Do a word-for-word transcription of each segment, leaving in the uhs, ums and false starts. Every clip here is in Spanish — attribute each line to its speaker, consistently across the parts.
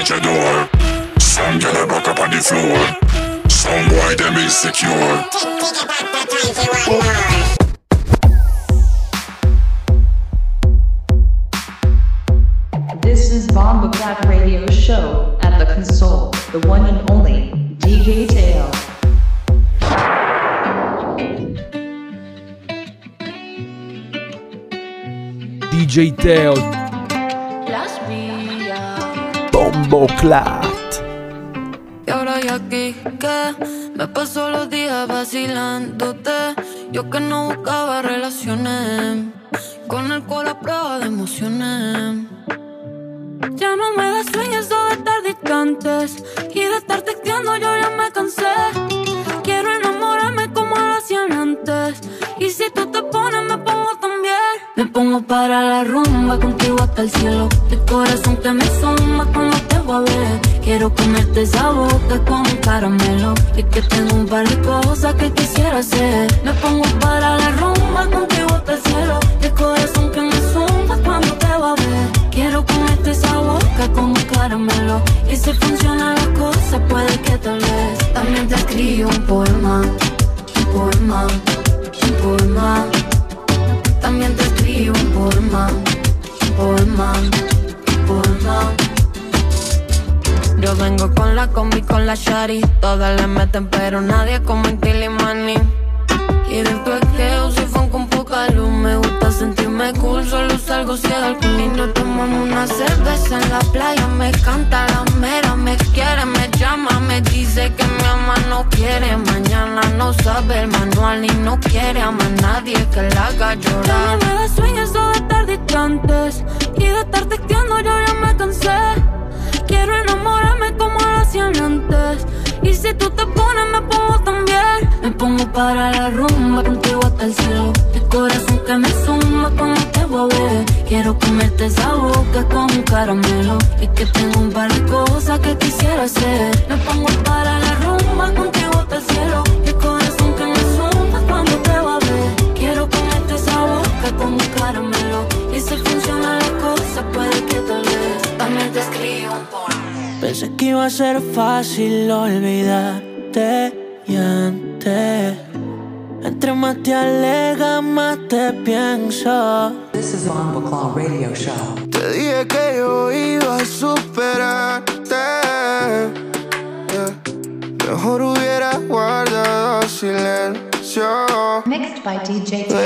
Speaker 1: at your door. Some get a back up on the floor. Some boy them insecure.
Speaker 2: This is Bomba Clap Radio Show at the console, the one and only D J Teo.
Speaker 3: D J Teo. Bombo Clap.
Speaker 4: Y ahora ya aquí que me paso los días vacilándote. Yo que no buscaba relaciones, con el cual a prueba de emociones. Ya no me da sueño eso de estar distantes y de estar texteando yo ya me cansé. Quiero enamorarme como lo hacían antes. Y si tú te pones me pongo también. Me pongo para la rumba contigo hasta el cielo. El corazón que me suma cuando te voy a ver. Quiero comerte esa boca como un caramelo. Es que tengo un par de cosas que quisiera hacer. Me pongo para la rumba contigo hasta el cielo. El corazón que me suma cuando te voy a ver. Quiero comerte esa boca como un caramelo. Y si funcionan las cosas puede que tal vez. También te escribo un poema, un poema, un poema. También te escribo un poema, un poema, un poema. Yo vengo con la combi, con la shari. Todas le meten pero nadie como en Tilimani. Y del tu esqueo soy fan con poca luz. Me gusta sentirme cool, solo salgo si hay alcohol. Y nos tomamos una cerveza en la playa. Me canta la mera, me quiere, me llama. Me dice que mi ama no quiere. Mañana no sabe el manual y no quiere amar a nadie que la haga llorar. Ya no me da sueño eso de estar distantes y de estar texteando yo ya me cansé. Quiero enamorarme como lo hacían antes. Y si tú te pones me pongo también. Me pongo para la rumba contigo hasta el cielo. El corazón que me suma cuando te voy a ver. Quiero comerte esa boca como un caramelo. Es que tengo un par de cosas que quisiera hacer. Me pongo para la rumba contigo hasta el cielo. El corazón que me suma cuando te voy a ver. Quiero comerte esa boca como un caramelo. Y si funcionan las cosas puede que tal vez. También te escribo un poema.
Speaker 5: Pensé que iba a ser fácil olvidarte y antes. Entre más te alejas, más te pienso.
Speaker 2: This is Bomba Clap Radio Show.
Speaker 6: Te dije que yo iba a superarte, yeah. Mejor hubiera guardado silencio.
Speaker 2: Mixed by D J Teo.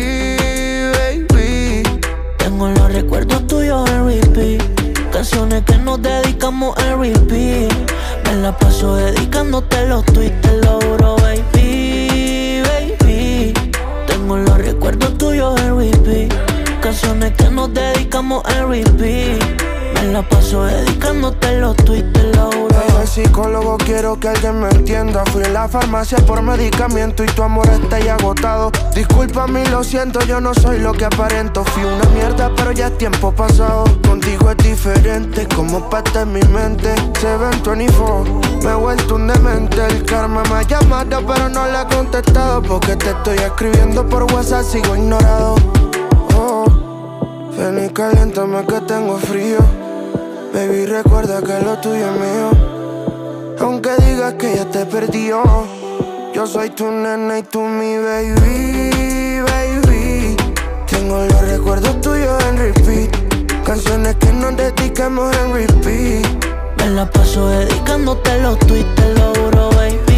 Speaker 6: Baby, baby.
Speaker 5: Tengo los recuerdos tuyos en repeat. Canciones que nos dedicamos en repeat. Me la paso dedicándote los tweets, te lo juro, baby, baby. Tengo los recuerdos tuyos en repeat. Canciones que nos dedicamos en repeat. Me la paso dedicándote los tweets, te lo juro.
Speaker 6: El psicólogo, quiero que alguien me entienda. Fui a la farmacia por medicamento y tu amor está ahí agotado. Discúlpame y lo siento, yo no soy lo que aparento. Fui una mierda pero ya es tiempo pasado. Contigo es diferente, como parte de mi mente. Seven veinticuatro, me he vuelto un demente. El karma me ha llamado pero no le he contestado. Porque te estoy escribiendo por WhatsApp, sigo ignorado. Oh, ven y caliéntame que tengo frío. Baby, recuerda que lo tuyo es mío. Aunque digas que ya te perdió, yo soy tu nena y tú mi baby, baby. Tengo los recuerdos tuyos en repeat. Canciones que nos dedicamos en repeat.
Speaker 5: Me la paso dedicándote los tweets, te lo juro,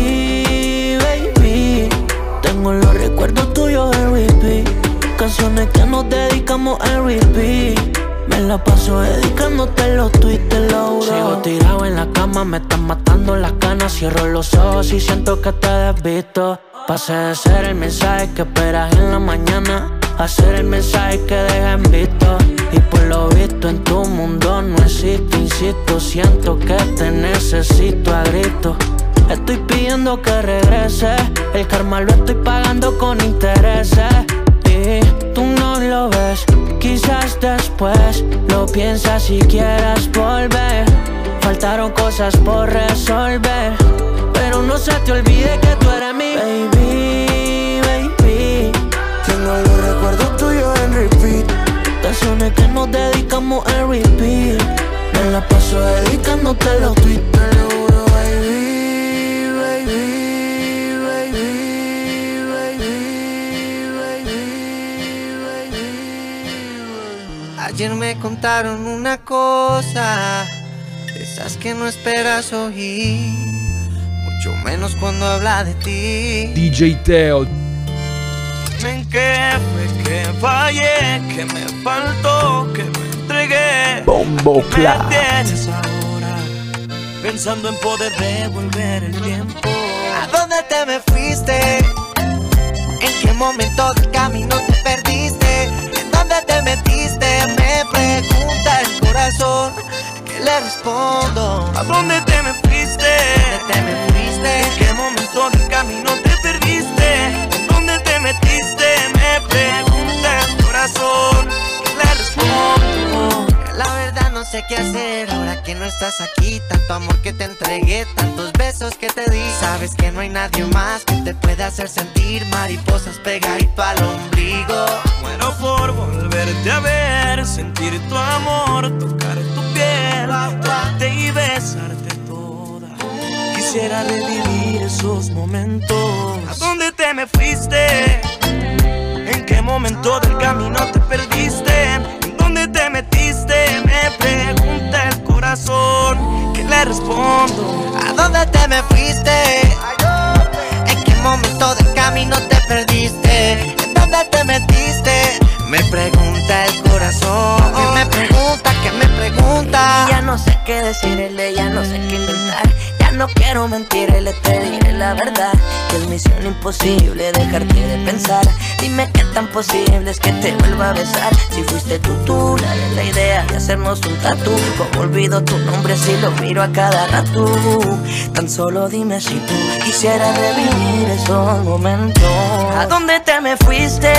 Speaker 5: baby, baby. Tengo los recuerdos tuyos en repeat. Canciones que nos dedicamos en repeat. Me la paso dedicándote los tweets, te lo juro. Sigo tirado en la cama, me están matando las ganas. Cierro los ojos y siento que te desvisto. Pasé de ser el mensaje que esperas en la mañana a ser el mensaje que deja en visto. Y por lo visto en tu mundo no existo, insisto. Siento que te necesito a grito. Estoy pidiendo que regreses. El karma lo estoy pagando con intereses. Y tú no lo ves, quizás después lo piensas si quieras volver. Faltaron cosas por resolver, pero no se te olvide que tú eres mi baby, baby.
Speaker 6: Tengo los recuerdos tuyos en repeat.
Speaker 5: Canciones que nos dedicamos en repeat. Me la paso paso dedicándote los tweets, te lo juro, baby, baby, baby, baby, baby, baby. Ayer me contaron una cosa, de esas que no esperas oír, mucho menos cuando habla de ti.
Speaker 3: D J Teo.
Speaker 7: ¿En qué fue que fallé? ¿Qué me faltó? ¿Qué me entregué?
Speaker 3: Bombo Clap.
Speaker 7: ¿Me tienes ahora pensando en poder devolver el tiempo?
Speaker 5: ¿A dónde te me fuiste? ¿En qué momento del camino te perdiste? ¿En dónde te metiste? Me pregunta el corazón. ¿Qué le respondo?
Speaker 7: ¿A dónde te me fuiste?
Speaker 5: ¿Dónde te me fuiste?
Speaker 7: ¿En qué momento del camino te perdiste? ¿En dónde te metiste? Me pregunta el corazón. ¿Qué le respondo?
Speaker 5: La verdad no sé qué hacer ahora que no estás aquí. Tanto amor que te entregué, tantos besos que te di. Sabes que no hay nadie más que te pueda hacer sentir mariposas pegadito al ombligo.
Speaker 7: Muero por volverte a ver, sentir tu amor, tocar tu piel, tocarte y besarte toda. Quisiera revivir esos momentos. ¿A dónde te me fuiste? ¿En qué momento del camino te perdiste? ¿En dónde te metiste? Me pregunta el corazón. ¿Qué le respondo?
Speaker 5: ¿A dónde te me fuiste? ¿En qué momento del camino te perdiste? ¿En dónde te metiste? Me pregunta el corazón. ¿Qué me pregunta? ¿Qué me pregunta?
Speaker 8: Y ya no sé qué decirle, ya no sé qué inventar. Ya no quiero mentirle, te diré la verdad, que es misión imposible dejarte de pensar. Dime qué tan posible es que te vuelva a besar. Si fuiste tú, tú, la de la idea de hacernos un tatú. Como olvido tu nombre si lo miro a cada rato. Tan solo dime si tú quisieras revivir esos momentos. ¿A dónde te me fuiste?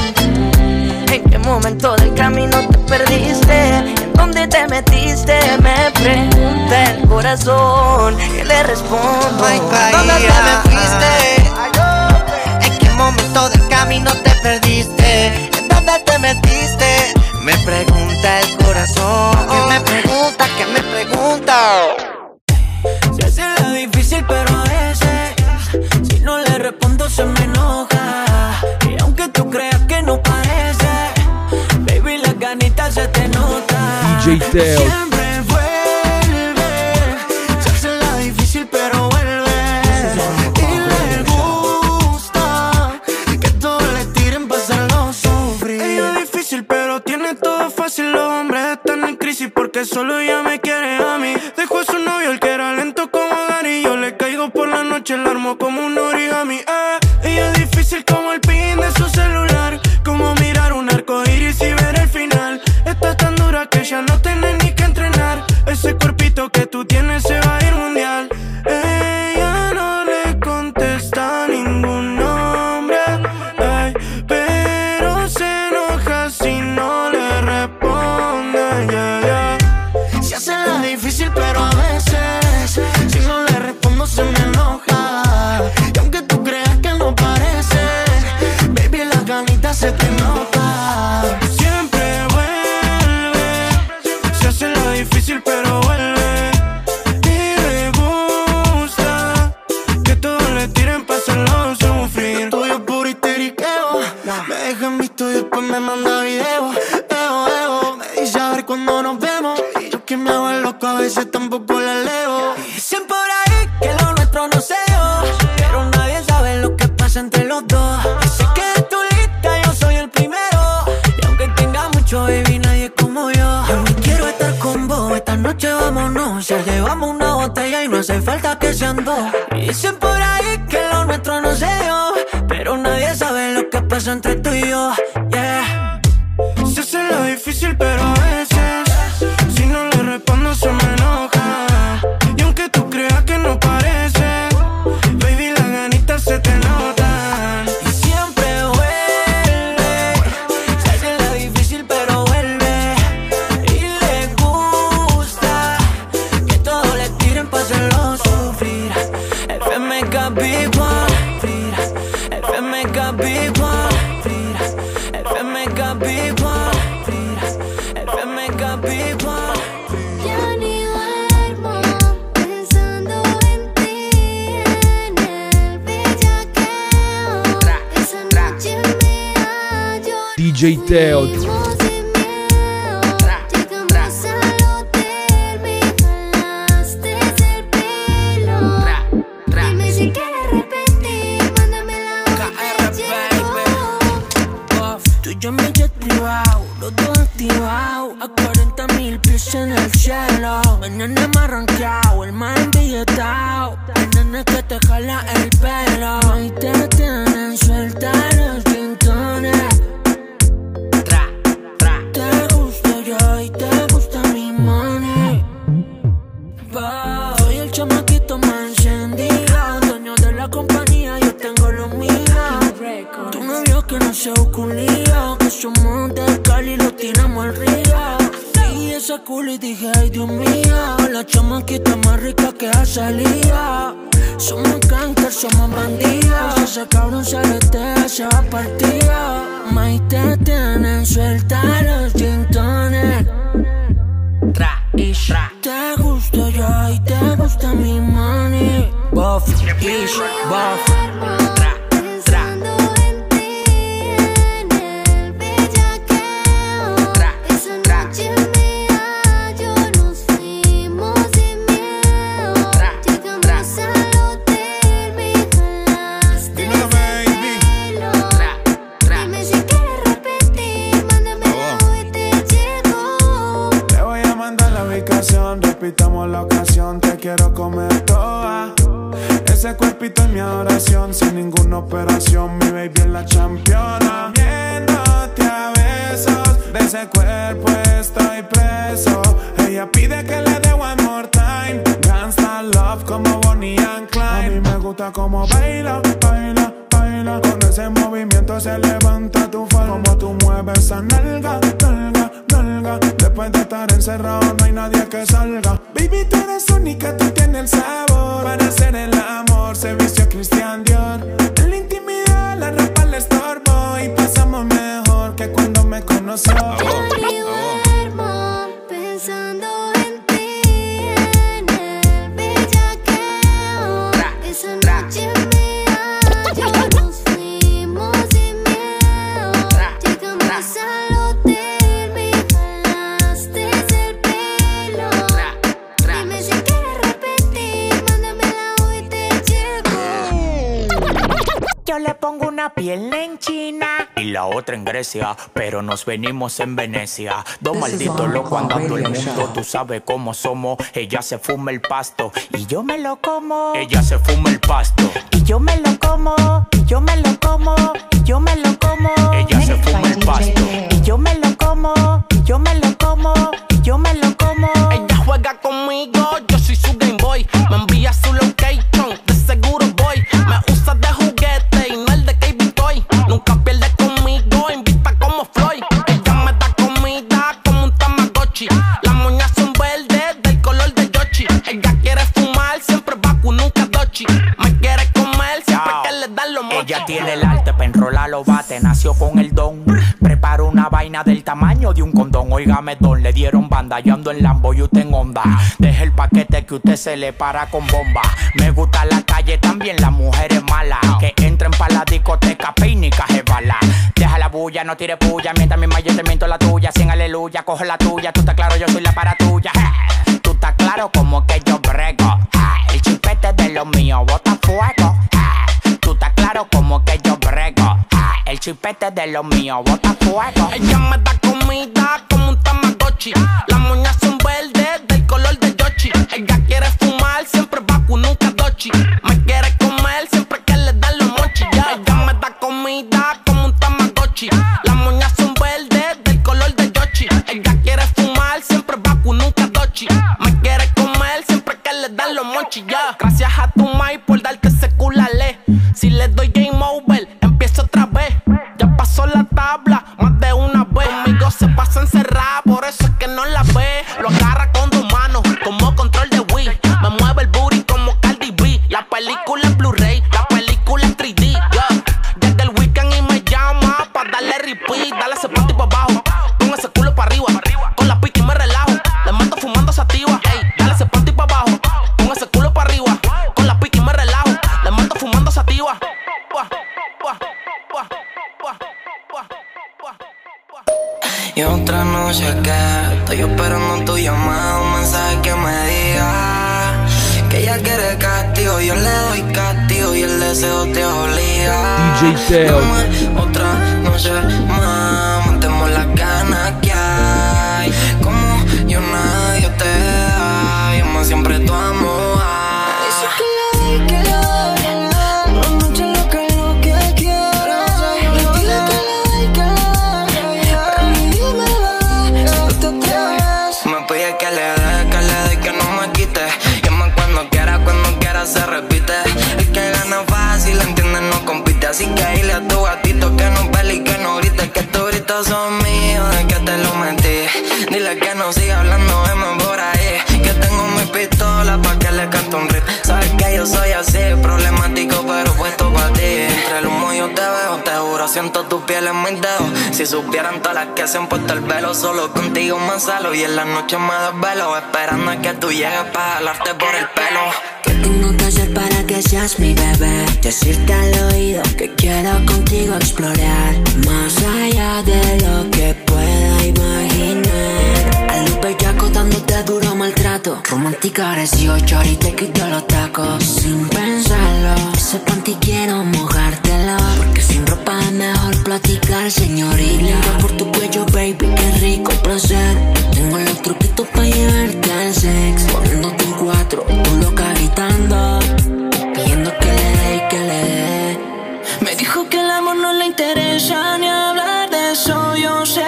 Speaker 8: ¿En qué momento del camino te perdiste? ¿En dónde te metiste? Me pregunta el corazón. ¿Qué le respondo?
Speaker 5: Ay, ¿a dónde te me fuiste? ¿En qué momento del camino te perdiste? ¿En dónde te metiste? Me pregunta el corazón. ¿Qué me pregunta? ¿Qué me pregunta?
Speaker 8: Se hace la difícil pero a veces si no le respondo se me enoja. Y aunque tú creas que no parece, baby, las ganitas se te notan.
Speaker 3: D J Teo.
Speaker 8: Siempre vuelve. Se hace la difícil pero vuelve. Y le gusta que todos le tiren para hacerlo sufrir.
Speaker 7: Ella es difícil pero tiene todo fácil. Los hombres están en crisis porque solo ella me quiere a mí. Dejó a su novio el que era lento como Gary. Yo le caigo por la noche, la armo como un origami. eh. Ella es difícil como el pin de su celular, como mirar un arco iris y ver el final. Está tan dura que ya no tenés ni que entrenar. Ese cuerpito que tú tienes se va a ir mundial. Ella no le contesta a ningún nombre, ay, pero se enoja si no le responde, yeah, yeah.
Speaker 8: Se hace la difícil pero a veces si no le respondo se me enoja. Y aunque tú creas que no parece, baby, las ganitas se te notan.
Speaker 7: Siempre vuelve, se hace la difícil pero vuelve. Y le gusta que todos le tiren para hacerlo sufrir.
Speaker 8: Tuyo puro histeriqueo, me deja en visto y después me manda video. Eo, eo, me dice a ver cuando nos vemos. Y yo que me hago el loco a veces tampoco la leo. Dicen por ahí que lo nuestro no se dio, pero nadie sabe lo que pasa entre los dos. Y sé que de tu lista yo soy el primero, y aunque tenga mucho, baby, nadie es como yo. Yo ni quiero estar con vos, esta noche vámonos. Ya llevamos una botella y no hace falta que sean dos. Y dicen por ahí que lo nuestro no se dio, pero nadie sabe lo que pasa entre tú y yo, yeah.
Speaker 7: Se hace la difícil pero a veces si no le respondo se me enoja. Y aunque tú creas que no parece, baby, las ganitas se te notan.
Speaker 8: Y siempre vuelve, se hace la difícil pero vuelve. Y le gusta que todos le tiren para hacerlo sufrir. F M K Big One, friras. F M K Big One, friras. F M K Big One, friras. F M K Big One.
Speaker 4: Ya ni duele
Speaker 3: J Teo.
Speaker 5: Yo me he activado, los dos activados, a cuarenta mil pies en el cielo. Mañana me arranqueado, el más embilletado, el nene que te jala el pelo. Y te tienen suelta los tintones. Tra, tra. Te gusto yo y te gusta mi money. Bah, soy el chamaquito más encendido, dueño de la compañía, yo tengo lo mío. Tu novio que no se busca un lío, que somos de Cali, lo tiramos al río. Y esa culo y dije, ay Dios mío, la chamaquita más rica que ha salido. Somos gangsters, somos bandidos, ese cabrón se aletea, se va partido. May te tienen suelta los tintones. Tra y tra. Te gusto yo y te gusta mi money. Buff, ish, buff.
Speaker 7: Repitamos la ocasión, te quiero comer toda. Ese cuerpito es mi adoración, sin ninguna operación, mi baby es la championa. Viéndote a besos, de ese cuerpo estoy preso. Ella pide que le dé one more time, gangsta love como Bonnie and Clyde. A mí me gusta como baila, baila, baila. Con ese movimiento se levanta tu falda. Como tú mueves esa nalga, nalga, nalga. Después de estar encerrado no hay nadie que salga. Baby, tú eres única, tú tienes el sabor. Para hacer el amor se vistió Christian Dior. En la intimidad la ropa le estorbo y pasamos mejor que cuando me conoció.
Speaker 9: Yo ni duermo pensando en ti, en el bellaqueo. Esa noche mía, yo nos fuimos sin miedo. Llegamos al hotel, me jalaste el pelo. Dime si quieres repetir, mándamela hoy te llego.
Speaker 5: Yo le pongo una pierna en China y la otra en Grecia, pero nos venimos en Venecia. Dos malditos locos andando el mundo, tú sabes cómo somos. Ella se fuma el pasto y yo me lo como. Ella se fuma el pasto y yo me lo como. Y yo me lo como. Y yo me lo como. Ella se fuma el pasto y yo me lo como. Y yo me lo como. Y yo me lo como. Ella juega conmigo, yo soy su Game Boy. Me envía su location, de seguro voy. Me usa de juguete y no el de Cable Toy. Nunca pierde conmigo, invita como Floyd. Ella me da comida como un Tamagotchi. Las moñas son verdes del color de Yoshi. Ella quiere fumar, siempre vacu, nunca dochi. Me quiere comer, siempre que le dan los mochis. Ella tiene el arte pa' enrolar los bates, nació con el don. Preparo una vaina del tamaño de un condón. Óigame don, le dieron banda, yo ando en Lambo y usted en Honda. Deje el paquete que usted se le para con bomba. Me gusta la calle, también las mujeres malas, que entren pa' la discoteca, peinica, bala. Deja la bulla, no tire puya, mientras mi yo te miento la tuya. Cien aleluya, coge la tuya, tú estás claro, yo soy la para tuya. Hey, tú estás claro como que yo brego. Hey, el chipete de lo mío, bota fuego. Hey, tú estás claro como que yo brego. Hey, el chipete de lo mío, bota fuego. Ella me da comida como un Tamagotchi. Las moñas son verdes del color de Yoshi. Ella quiere fumar, siempre vacu, nunca dochi. Me quiere comer, siempre que le dan los mochis. Yeah. Ella me da comida como un Tamagotchi. Las moñas son verdes del color de Yoshi. Ella quiere fumar, siempre vacu, nunca dochi. Me quiere comer, siempre que le dan los mochis. Yeah. Gracias a tu mai por darte ese culale. Si le doy game over, empiezo otra vez. Ya pasó la tabla más de una vez. Conmigo se pasa encerrada, por eso es que no la ve. Lo agarra con dos manos, como control de Wii. Me mueve el booty como Cardi B. La película es Blu-ray, la película es tres D. Yeah. Llega el weekend y me llama pa' darle repeat. Dale ese panty pa' abajo, con ese culo pa' arriba. Con la pica y me relajo, le mato fumando sativa. Ey, dale ese panty pa' abajo, con ese culo pa' arriba. Con la pica y me relajo, le mato fumando sativa. Pua, pua, pua, pua, pua, pua.
Speaker 10: castigo, yo le doy castigo y el deseo te obliga.
Speaker 3: D J Teo.
Speaker 10: Dame otra noche más, mantemos las ganas que hay. Como yo nadie te da, yo más siempre tu amor.
Speaker 9: Dice que le doy, que le doy una noche loca es lo que quiero. Me pide que le doy, que le doy, pero ni dime bebé, si tú te atreves.
Speaker 10: Me pide que le dé, que le dé, que no me quite. Llama cuando quiera, cuando quiera se repite. El que gana fácil, entiende, no compite. Así que dile a tu gatito que no pele y que no grite. Que tus gritos son míos, de que te lo metí. Dile que no siga hablando de más por ahí. Que tengo mi pistola pa' que le cante un rip. Sabes que yo soy así, problemático pero puesto pa' ti. Entre el humo yo te veo, te juro, siento tu piel en mis dedos. Si supieran todas las que se han puesto el velo, solo contigo me salo. Y en la noche me desvelo, esperando a que tú llegues pa' jalarte por el pelo.
Speaker 8: ¿Qué tengo que hacer para que seas mi bebé? Decirte al oído que quiero contigo explorar más allá de lo que pueda imaginar. A los bellacos dándote duro maltrato, romántica dieciocho y te quito los tacos sin pensarlo. Ese panty quiero mojártelo, porque sin ropa es mejor platicar, señorita. Por tu cuello, baby, qué rico placer. Tengo los truquitos pa' llevarte al sex, poniéndote en cuatro, tú loca gritando, pidiendo que le dé y que le dé. Me dijo que el amor no le interesa ni hablar de eso, yo sé.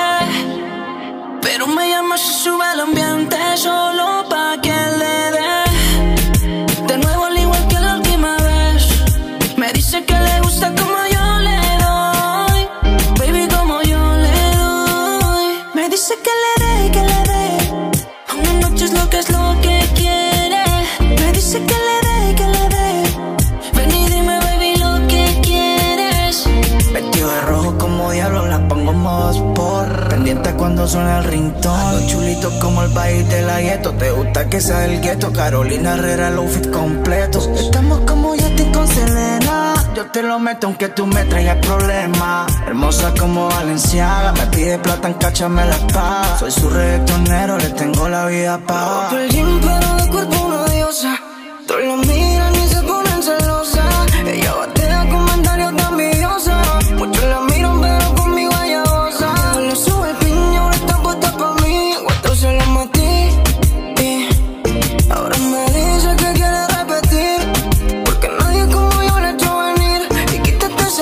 Speaker 8: Pero me llama si sube el ambiente solo pa' que le dé. De nuevo al igual que la última vez. Me dice que le gusta como yo le doy, baby, como yo le doy. Me dice que le dé, que le dé. Una noche es lo que es lo que quiere. Me dice que le dé, que le dé. Ven y dime, baby, lo que quieres.
Speaker 11: Vestido de rojo como diablo, la pongo en modo sport. Pendiente cuando suena el ringtone. Los chulitos como el baile de la gueto. Te gusta que sea del gueto. Carolina Herrera, el outfit completo. Estamos como Justin con Selena. Yo te lo meto aunque tú me traigas problemas. Hermosa como Valenciaga. Me pide plata en cacha, me la paga. Soy su reggaetonero, le tengo la vida paga.
Speaker 9: No perdí, pero de cuerpo una diosa. Todos la miran y se ponen celosas. Ella batea comentarios de envidiosa. Muchos la miran pero conmigo ella goza. Le sube el piño, ahora está puesta pa' mí. Cuatro se la metí y ahora me dice que quiere repetir, porque nadie como yo le echó venir. Y quítate ese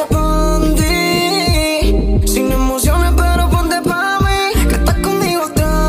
Speaker 9: panty, sin emociones pero ponte pa' mí, que estás conmigo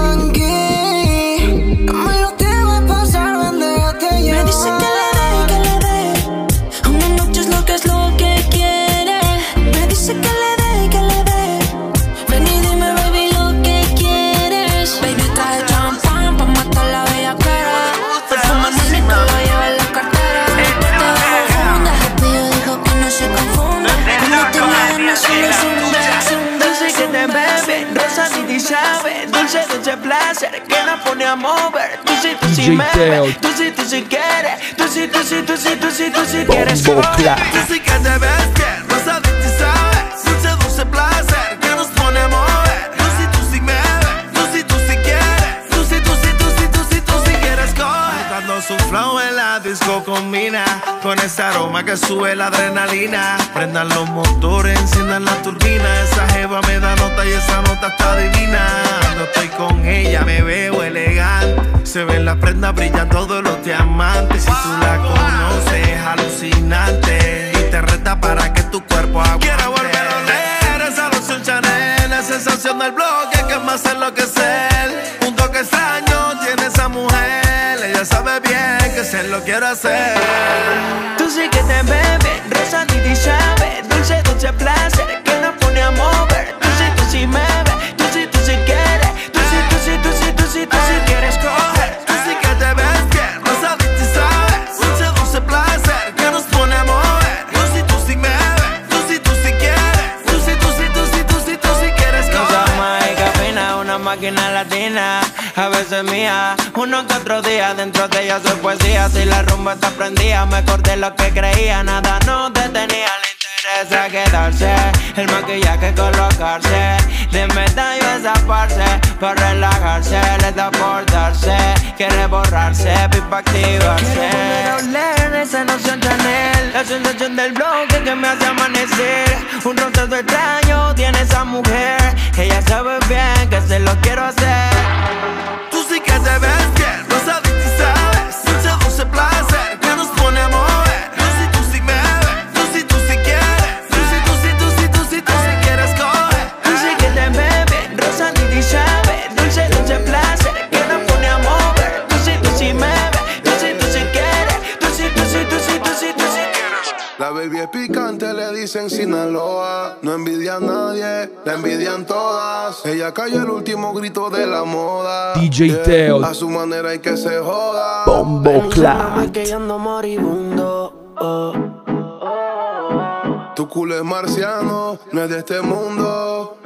Speaker 9: tranqui. No me lo te va a pasar, ven, déjate llevar.
Speaker 8: Me dice que le dé, que le dé. Una noche es lo que es lo que quiere. Me dice que le dé, que le dé. Ven y dime, baby, lo que quieres. Baby, trae champán pa' matar la bellaquera. Perfume nene que lo lleva en la cartera. Te confunda, rápido dijo que no se confunda. No tiene ganas, solo zumba, zumba.
Speaker 11: Dulce que te bebe, rosa ni sabe. Dulce, dulce placer que la pone a mover. Tú sí, tú sí me ves, tú sí, tú sí quieres. Tú sí, tú sí, tú sí, tú sí, tú sí quieres. Tú sí que te ves bien, rosa ni sabe. Dulce, dulce placer que nos pone a mover. Tú sí, tú sí me ves, tú sí, tú sí quieres. Tú sí, tú sí, tú sí, tú sí, tú sí quieres coger. Cuando su flow en la disco combina con ese aroma que sube la adrenalina. Prendan los motores, enciendan la turbina. Esa jeva me da nota y esa nota está divina. Cuando estoy con ella me veo elegante. Se ven las prendas, brillan todos los diamantes. Si tú la conoces es alucinante y te reta para que tu cuerpo aguante. Quiero volver a oler esa loción Chanel, la sensación del bloque que me hace enloquecer. Un toque extraño tiene esa mujer, ella sabe bien que se lo quiero hacer. Tú sí que te bebes, rosa ni sabe. Dulce, dulce placer que nos pone a mover. Tú sí, tú sí me ves, tú sí, tú sí quieres. Tú sí, tú sí, tú sí, tú sí, tú sí quieres coger. Tú sí que te ves bien, rosa ni sabes. Dulce, dulce placer que nos pone a mover. Tú sí, tú sí me ves, tú sí, tú sí quieres. Tú sí, tú sí, tú sí, tú sí, tú sí quieres coger.
Speaker 12: Esa mágica fina, una máquina latina, a veces mía, uno que otro día. Dentro de ella soy poesía. Si la rumba está prendida, me acordé lo que creía. Nada nos detenía, le interesa quedarse. El maquillaje colocarse, de medallo esa parce, para relajarse, le da por darse. Quiere borrarse, pipa activarse.
Speaker 11: Quiero volver a oler esa
Speaker 12: combinación Chanel. La sensación del bloque que me hace amanecer. Un rostro extraño tiene esa mujer. Ella sabe bien que se lo quiero hacer.
Speaker 7: Tú sí que te ves bien, rosadita y sabes. Dulce, dulce placer que nos pone a mover. Tú sí, tú sí me ves, tú sí, tú sí quieres. Tú sí, tú sí, tú sí, tú sí, tú sí quieres coger.
Speaker 12: Tú sí que te ves bien, rosadita y sabes. Dulce, dulce placer que nos pone a mover. Tú sí, tú sí me ves, tú sí, tú sí quieres. Tú sí, tú sí, tú sí, tú sí, tú sí quieres.
Speaker 6: La baby es picante, le dicen Sinaloa. No envidia a nadie, la envidian todas. Ella cayó el último grito de la moda.
Speaker 3: D J Teo.
Speaker 6: A su manera hay que se joda.
Speaker 3: Bombo Clat.
Speaker 5: Que yo ando moribundo. Oh.
Speaker 6: Tu culo es marciano, no es de este mundo.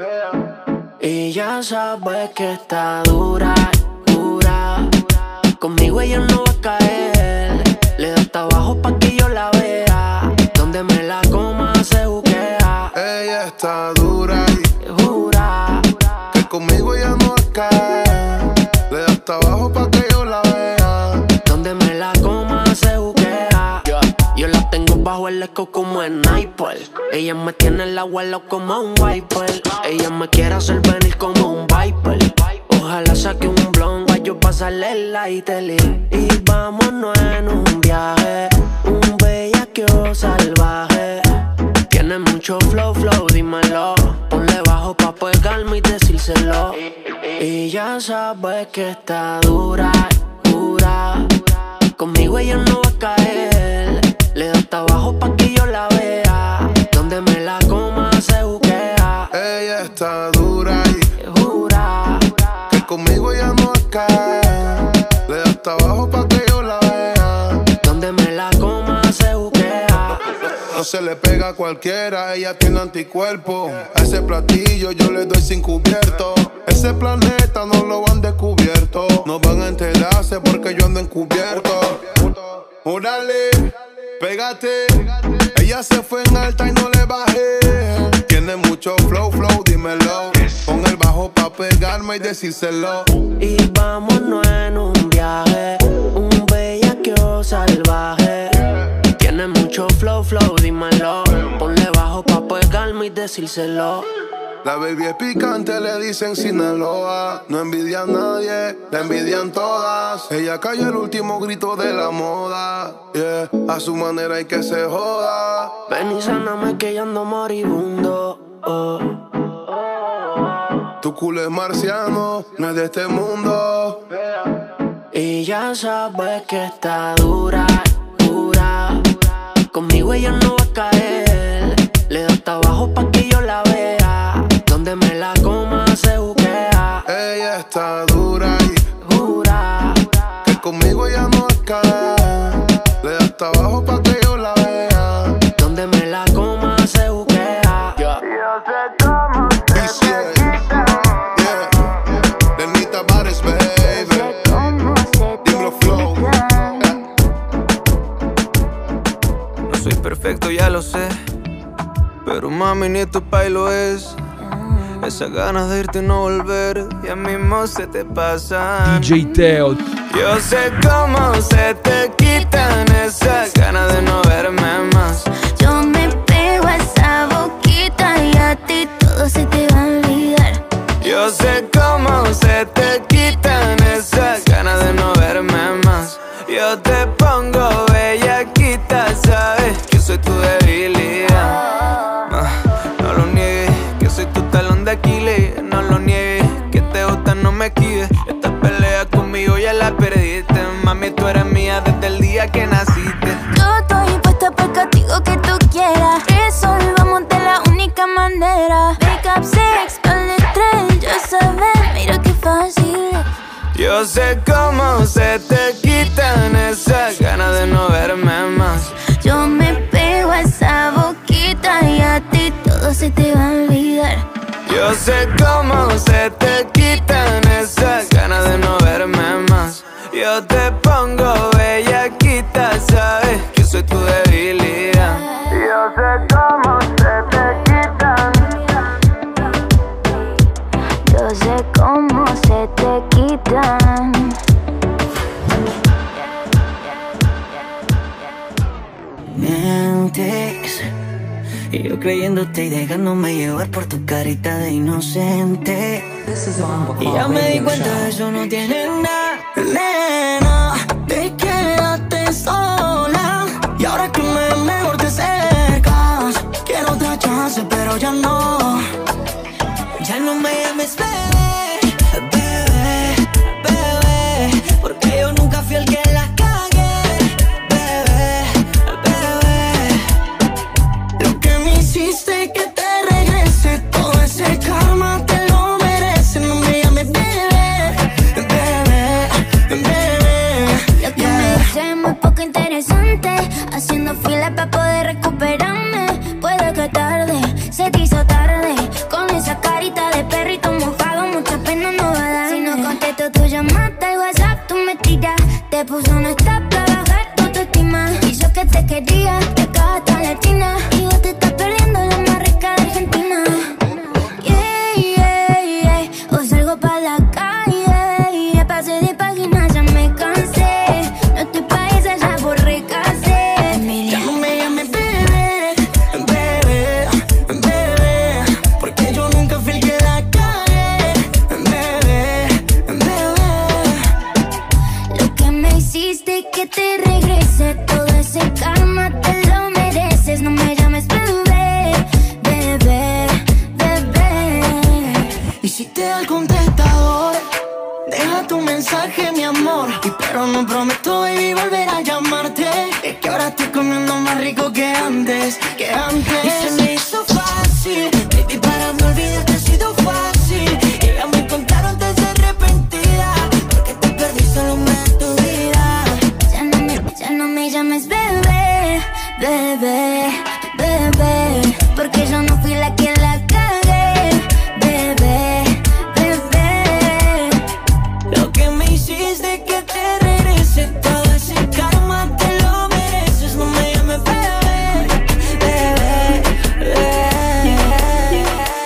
Speaker 5: Y ya sabes que está dura, dura. Conmigo ella no va a caer. Le da hasta abajo pa' que yo la vea. Donde me la coma se buquea.
Speaker 6: Ella está dura y
Speaker 5: jura
Speaker 6: que conmigo ella no va a caer. Le da hasta abajo pa' que yo la vea.
Speaker 5: Donde me la coma se buquea. Yo la tengo bajo el eco como en sniper. Ella me tiene el abuelo como un wiper. Ella me quiere hacer venir como un viper. Ojalá saque un blon, yo pasarle el lighter. Y vámonos en un viaje, un bellaqueo salvaje. Tiene mucho flow, flow, dímelo. Ponle bajo pa' pegarme y decírselo. Y ya sabes que está dura, dura. Conmigo ella no va a caer. Le da hasta abajo pa' que yo la vea. Donde me la coma se buquea.
Speaker 6: Ella está dura y
Speaker 5: jura
Speaker 6: que conmigo ella no va a caer. Le da hasta abajo pa' que yo la vea.
Speaker 5: Donde me la coma se buquea.
Speaker 6: No se le pega a cualquiera, ella tiene anticuerpo. A ese platillo yo le doy sin cubierto. Ese planeta no lo han descubierto. No van a enterarse porque yo ando encubierto. Órale, pégate. Ella se fue en alta y no le bajé. Tiene mucho flow, flow, dímelo. Con el bajo pa' pegarme y decírselo.
Speaker 5: Y vámonos en un viaje, un bellaqueo salvaje. Tiene mucho flow, flow, dímelo. Ponle bajo pa' pegarme y decírselo.
Speaker 6: La baby es picante, le dicen Sinaloa. No envidia a nadie, la envidian todas. Ella cayó el último grito de la moda. Yeah, a su manera hay que se joda.
Speaker 5: Ven y sáname que yo ando moribundo. Oh.
Speaker 6: Tu culo es marciano, no es de este mundo.
Speaker 5: Y ya sabes que está dura, dura. Conmigo ella no va a caer. Le da hasta abajo pa' que yo la vea. Donde me la coma se buquea.
Speaker 6: Ella está dura y
Speaker 5: jura
Speaker 6: que conmigo ella no va a caer. Le da hasta abajo pa' que yo la vea.
Speaker 5: Donde me la coma se buquea.
Speaker 6: Yeah. Yo sé cómo se te quita. Yeah. Lenita Bares, baby. Dímelo, Flow.
Speaker 12: No soy perfecto, ya lo sé. Pero mami, ni tu pai lo es. Esas ganas de irte y no volver, ya mismo se te pasan.
Speaker 3: D J Teo.
Speaker 12: Yo sé cómo se te quitan esas ganas de no verme más.
Speaker 13: Yo me pego a esa boquita y a ti todo se te va a olvidar.
Speaker 12: Yo sé cómo se te quitan esas ganas de no verme más. Yo te pongo bellaquita, sabes que soy tu debilidad. No lo niegues, que soy tu talón de Aquiles. No lo niegues, que te gusta, no me esquives. Esta pelea conmigo ya la perdiste. Mami, tú eres mía desde el día que naciste.
Speaker 13: Yo estoy puesta para el castigo que tú quieras. Resolvamos de la única manera. Wake up sex con el estrés. Yo sabes, mira qué fácil.
Speaker 12: Yo sé cómo se te quitan esas ganas de no verme más.
Speaker 13: Yo me pego a esa boquita y a ti todo se te va a olvidar.
Speaker 12: Yo sé cómo se te quitan esas ganas de no verme más. Yo te pongo bellaquita, sabes que soy tu debilidad. Yo sé cómo se te quitan.
Speaker 13: Yo sé cómo se te quitan.
Speaker 5: mientes. Y yo creyéndote y dejándome llevar por tu carita de inocente. Y ya me di cuenta de eso no tiene nada. Nena, te quedaste sola. Y ahora que me mejor te acercas, quiero otra chance pero ya no. Ya no me llames bebé, bebé, bebé, porque yo nunca fui el que la cagué. Bebé, bebé, lo que me hiciste que te regrese, todo ese karma te lo mereces. No me llames bebé, bebé, bebé.
Speaker 13: Lo que me dice es muy poco interesante, haciendo fila para poder recuperarme. Puede que tarde, se te hizo tarde, con esa carita de perrito mojado, mucha pena no va a dar. Si no contesto tu llamada al WhatsApp, tú me tiras. Te puso un stop para bajar tu autoestima. Y yo que te quería, te cagaste a la china. Y vos te estás perdiendo la más rica de Argentina. Yeah, yeah, yeah. O salgo pa' la calle, yeah. Pasé de página, ya me cansé. No estoy pa' esa, ya borré casé.
Speaker 5: Ya no me llames bebé, bebé, bebé, porque yo nunca fui el que la cagué. Bebé, bebé,
Speaker 13: Lo que me hiciste que te regrese, todo ese karma te lo mereces. No me llames bebé, bebé, bebé.
Speaker 5: y si te da el contestador, deja tu mensaje, mi amor. Y pero no prometo, baby, volver a llamarte. Es que ahora estoy comiendo más rico que antes, que antes. Y se me hizo fácil, baby, para me olvidarte ha sido fácil. Y ya me contaron de ser arrepentida, porque te perdiste lo más de tu vida.
Speaker 13: Ya no me, ya no me llames bebé, bebé, bebé, porque yo no fui la que la cagué. Bebé, bebé,
Speaker 5: Lo que me hiciste que te regrese, todo ese karma te lo mereces. No me llames bebé, bebé, bebé.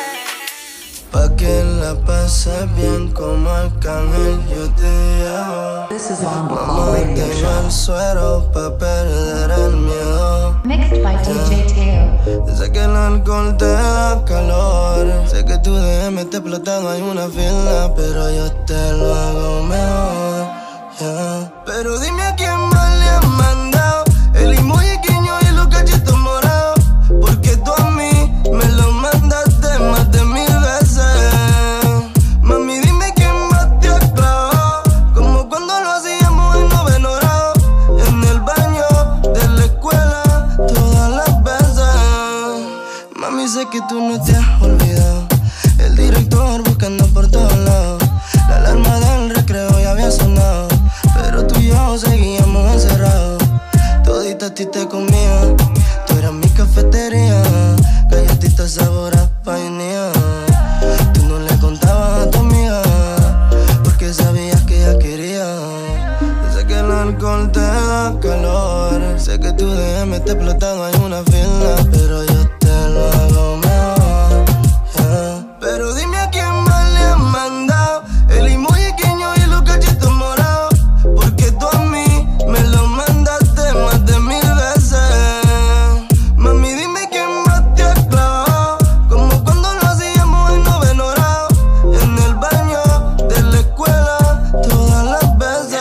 Speaker 6: Pa' que la pases bien como Arcángel yo te llamo. Vamos, tengo el suero pa' perder el miedo.
Speaker 2: Mixed by D J Teo.
Speaker 6: Sé que el alcohol te da calor. Sé que tu D M te explotado, hay una fila, pero yo te lo hago mejor, yeah. Pero dime a quién más le has mandado el emoji guiño y los cachetos morados, porque tú a mí me lo mandaste más de mil veces. Mami, dime quién más te ha clavado, como cuando lo hacíamos en noveno grado, en el baño de la escuela, todas las veces. Mami, sé que tú no te has olvidado, el director buscando por todos lados, la alarma del recreo ya había sonado, pero tú y yo seguíamos encerrados. Todita a ti te comía, tú eras mi cafetería, galletitas sabor a vainilla. Tú no le contabas a tu amiga, porque sabías que ella quería. Sé que el alcohol te da calor, sé que tu D M te explotado, hay una fila, pero yo te lo hago mejor, yeah. Pero dime a quién más le has mandado el emoji guiño y los cachetos morados, porque tú a mí me lo mandaste más de mil veces. Mami, dime quién más te ha clavado, como cuando lo hacíamos en noveno grado, en el baño de la escuela, todas las veces.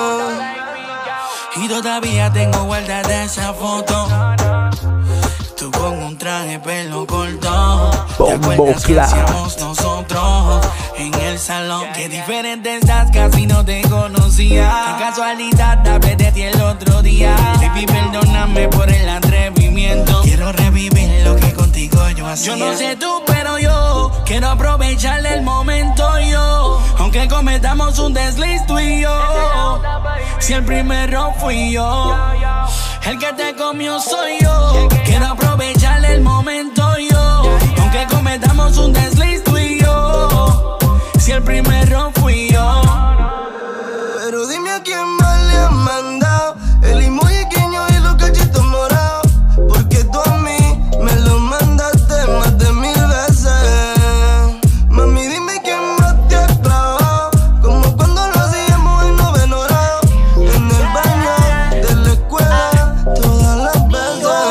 Speaker 11: Y todavía tengo guardada esa foto, tú con un traje pelo corto. ¿Te acuerdas que hacíamos nosotros en el salón? Qué diferente estás, casi no te conocía. Qué casualidad, hablé de ti el otro día. Baby, perdóname por el atrevimiento, quiero revivir lo que contigo yo hacía. Yo no sé tú, pero yo quiero aprovechar el momento yo, aunque cometamos un desliz tú y yo. Si el primero fui yo, el que te comió soy yo. Quiero aprovechar el momento yo, aunque cometamos un desliz tú y yo. Si el primero fui yo.
Speaker 6: Pero dime a quién más le has mandado el emoji guiño y los cachetos morados, porque tú a mí me lo mandaste más de mil veces. Mami, dime quién más te ha clavado, como cuando lo hacíamos en noveno grado, en el baño de la escuela, todas las veces.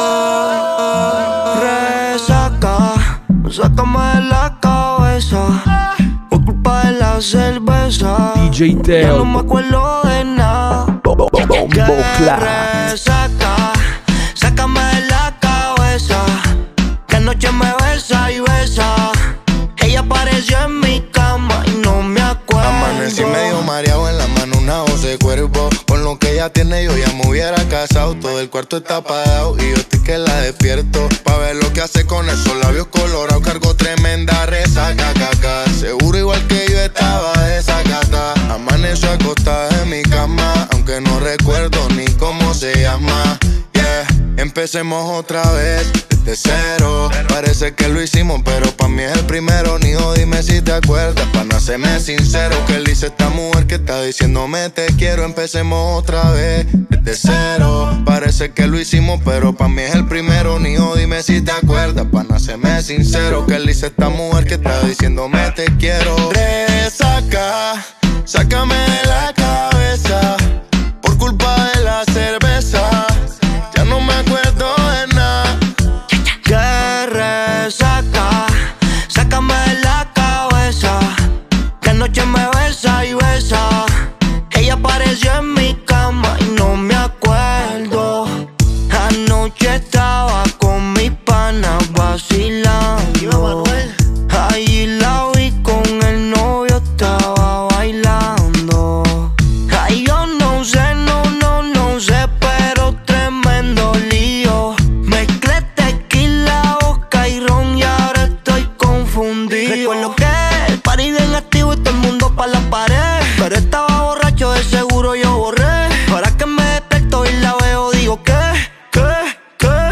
Speaker 3: D J Teo.
Speaker 5: Ya no me acuerdo de nada.
Speaker 3: Bombo
Speaker 5: Clat. Resaca, sácame de la cabeza. Que anoche me besa y besa. Ella apareció en mi cama y no me acuerdo.
Speaker 14: Amanecí medio mareado, en la mano una voz de cuervo. Con lo que ella tiene yo ya me hubiera casado. Todo el cuarto está apagado y yo estoy que la despierto. Pa' ver lo que hace con esos labios colorados. Cargo tremenda resaca, caca. Seguro igual que yo estaba desacata. Amaneció acostada en mi cama, aunque no recuerdo ni cómo se llama. Yeah, empecemos otra vez desde cero. Parece que lo hicimos, pero pa' mí es el primero. Nijo, dime si te acuerdas, pa' no serme sincero. Que le hice esta mujer que está diciéndome te quiero. Empecemos otra vez desde cero. Parece que lo hicimos, pero pa' mí es el primero. Nijo, dime si te acuerdas, pa' no serme sincero. Que le hice esta mujer que está diciéndome te quiero. Resaca, sácame de la cabeza por culpa de la cerveza. Ya no me acuerdo de nada.
Speaker 5: Que resaca, sácame de la cabeza. Que anoche me besa y besa. Ella apareció en mi cama y no me acuerdo. Anoche estaba con mis panas vacilando. Ahí la vi con el novio, estaba bailando. Ay, yo no sé, no, no, no sé, pero tremendo lío. Mezclé tequila, vodka y ron y ahora estoy confundido. Recuerdo que el party bien activo y todo el mundo pa' la pared. Pero estaba borracho, de seguro yo borré. Ahora que me despierto y la veo, digo que, que, que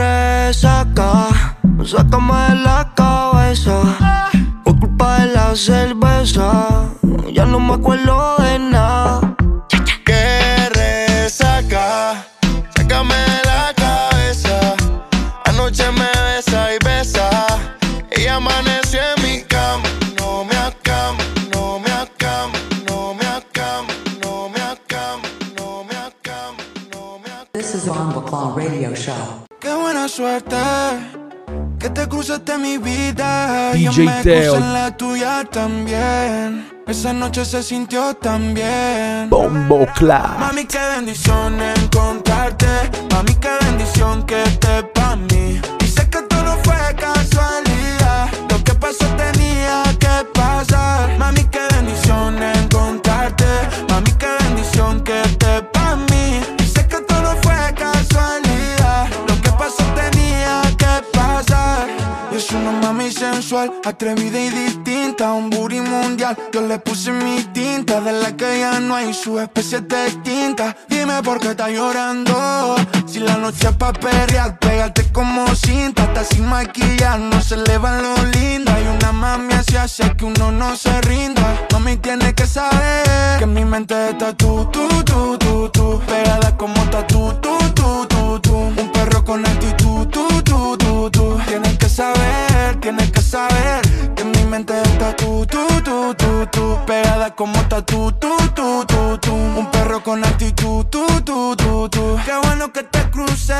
Speaker 5: resaca, sácame de la cabeza por culpa de la cerveza. Ya no me acuerdo de nada.
Speaker 14: Que resaca, sácame de la cabeza. Anoche me besa y besa. Ella amaneció en mi cama. No me acamo, no me acamo, no me acamo, no me acamo, no me acamo, no me acamo.
Speaker 2: This is Bombo Claw Radio Show.
Speaker 7: Qué buena suerte que te cruzaste en mi vida.
Speaker 3: D J
Speaker 7: Yo me
Speaker 3: Teo.
Speaker 7: crucé en la tuya también. Esa noche se sintió tan bien.
Speaker 3: Bombo Clat.
Speaker 7: Mami, qué bendición encontrarte. Mami, qué bendición que estés pa' mí. Y sé que todo no fue casualidad. Lo que pasó tenía que pasar. Mami, qué bendición encontrarte. Mami, qué bendición que estés pa' mí. Y sé que todo no fue casualidad. Lo que pasó tenía que pasar. Y es una mami sensual, atrevida y distinta. Un booty mundial, yo le puse mi tinta. De la que ya no hay, su especie es distinta. Dime por qué estás llorando. Si la noche es pa' perrear, pégate como cinta. Hasta sin maquillar, no se le van lo lindo. Hay una mami así hace que uno no se rinda. Mami, tienes que saber que en mi mente está tú, tú, tú, tú, tú. Pegada como tatu, tú, tú, tú, tú. Un perro con actitud, tú, tú, tú, tú. Tienes que saber, tienes que saber que en mi mente está tú, tú, tú, tú, tú. Pegada como tatu, tú, tú, tú, tú. Un perro con actitud, tú, tú, tú, tú. Qué bueno que te crucé.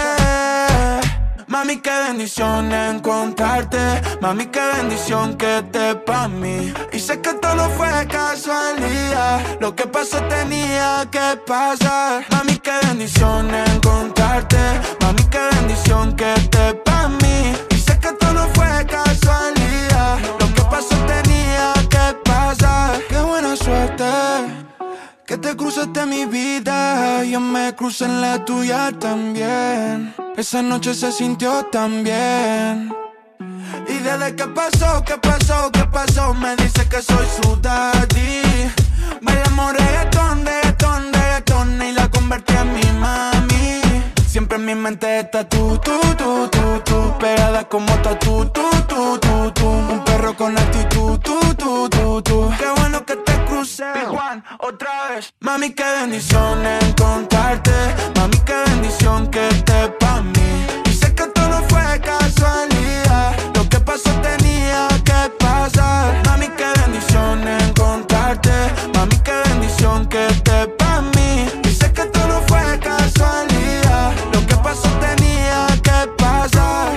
Speaker 7: Mami, qué bendición encontrarte. Mami, qué bendición que estés pa' mí. Y sé que todo no fue casualidad. Lo que pasó tenía que pasar. Mami, qué bendición encontrarte. Mami, qué bendición que estés pa' mí. Y sé que todo no fue casualidad. Lo que pasó tenía que pasar. Qué buena suerte que te cruzaste en mi vida. Yo me crucé en la tuya también. Esa noche se sintió tan bien. Y desde que pasó, que pasó, que pasó, me dice que soy su daddy. Bailamos reggaetón, reggaetón, reggaetón y la convertí en mi mami. Siempre en mi mente está tú, tú, tú, tú, tú. Pegada como tatu, tú, tú, tú, tú. Un perro con actitud, tú, tú, tú, tú. Qué bueno que te crucé, Juan, otra vez. Mami, qué bendición encontrarte. Mami, qué bendición que estés pa' mí. Y sé que todo no fue casualidad. Lo que pasó tenía que pasar. Mami, qué bendición encontrarte. Mami, qué bendición que estés pa' mí. Y sé que todo no fue casualidad. Lo que pasó tenía que pasar.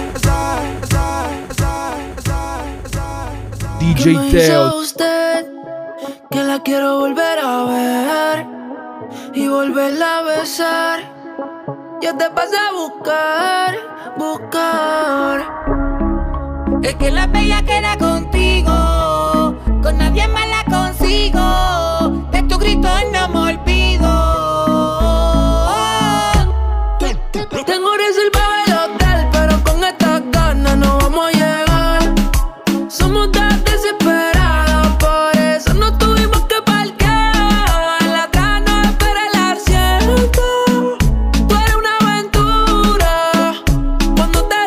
Speaker 3: D J Teo.
Speaker 15: Usted que
Speaker 9: la quiero volver a ver y volverla a besar. Yo te pasé a buscar, buscar.
Speaker 15: Es que la bella queda contigo, con nadie más la consigo. De tu grito no me olvido.
Speaker 9: Tengo reservado el hotel, pero con estas ganas no vamos a llegar. Somos tan desesperados, por eso no tuvimos que parquear. La atrás no espera el asiento. Tú eres una aventura cuando te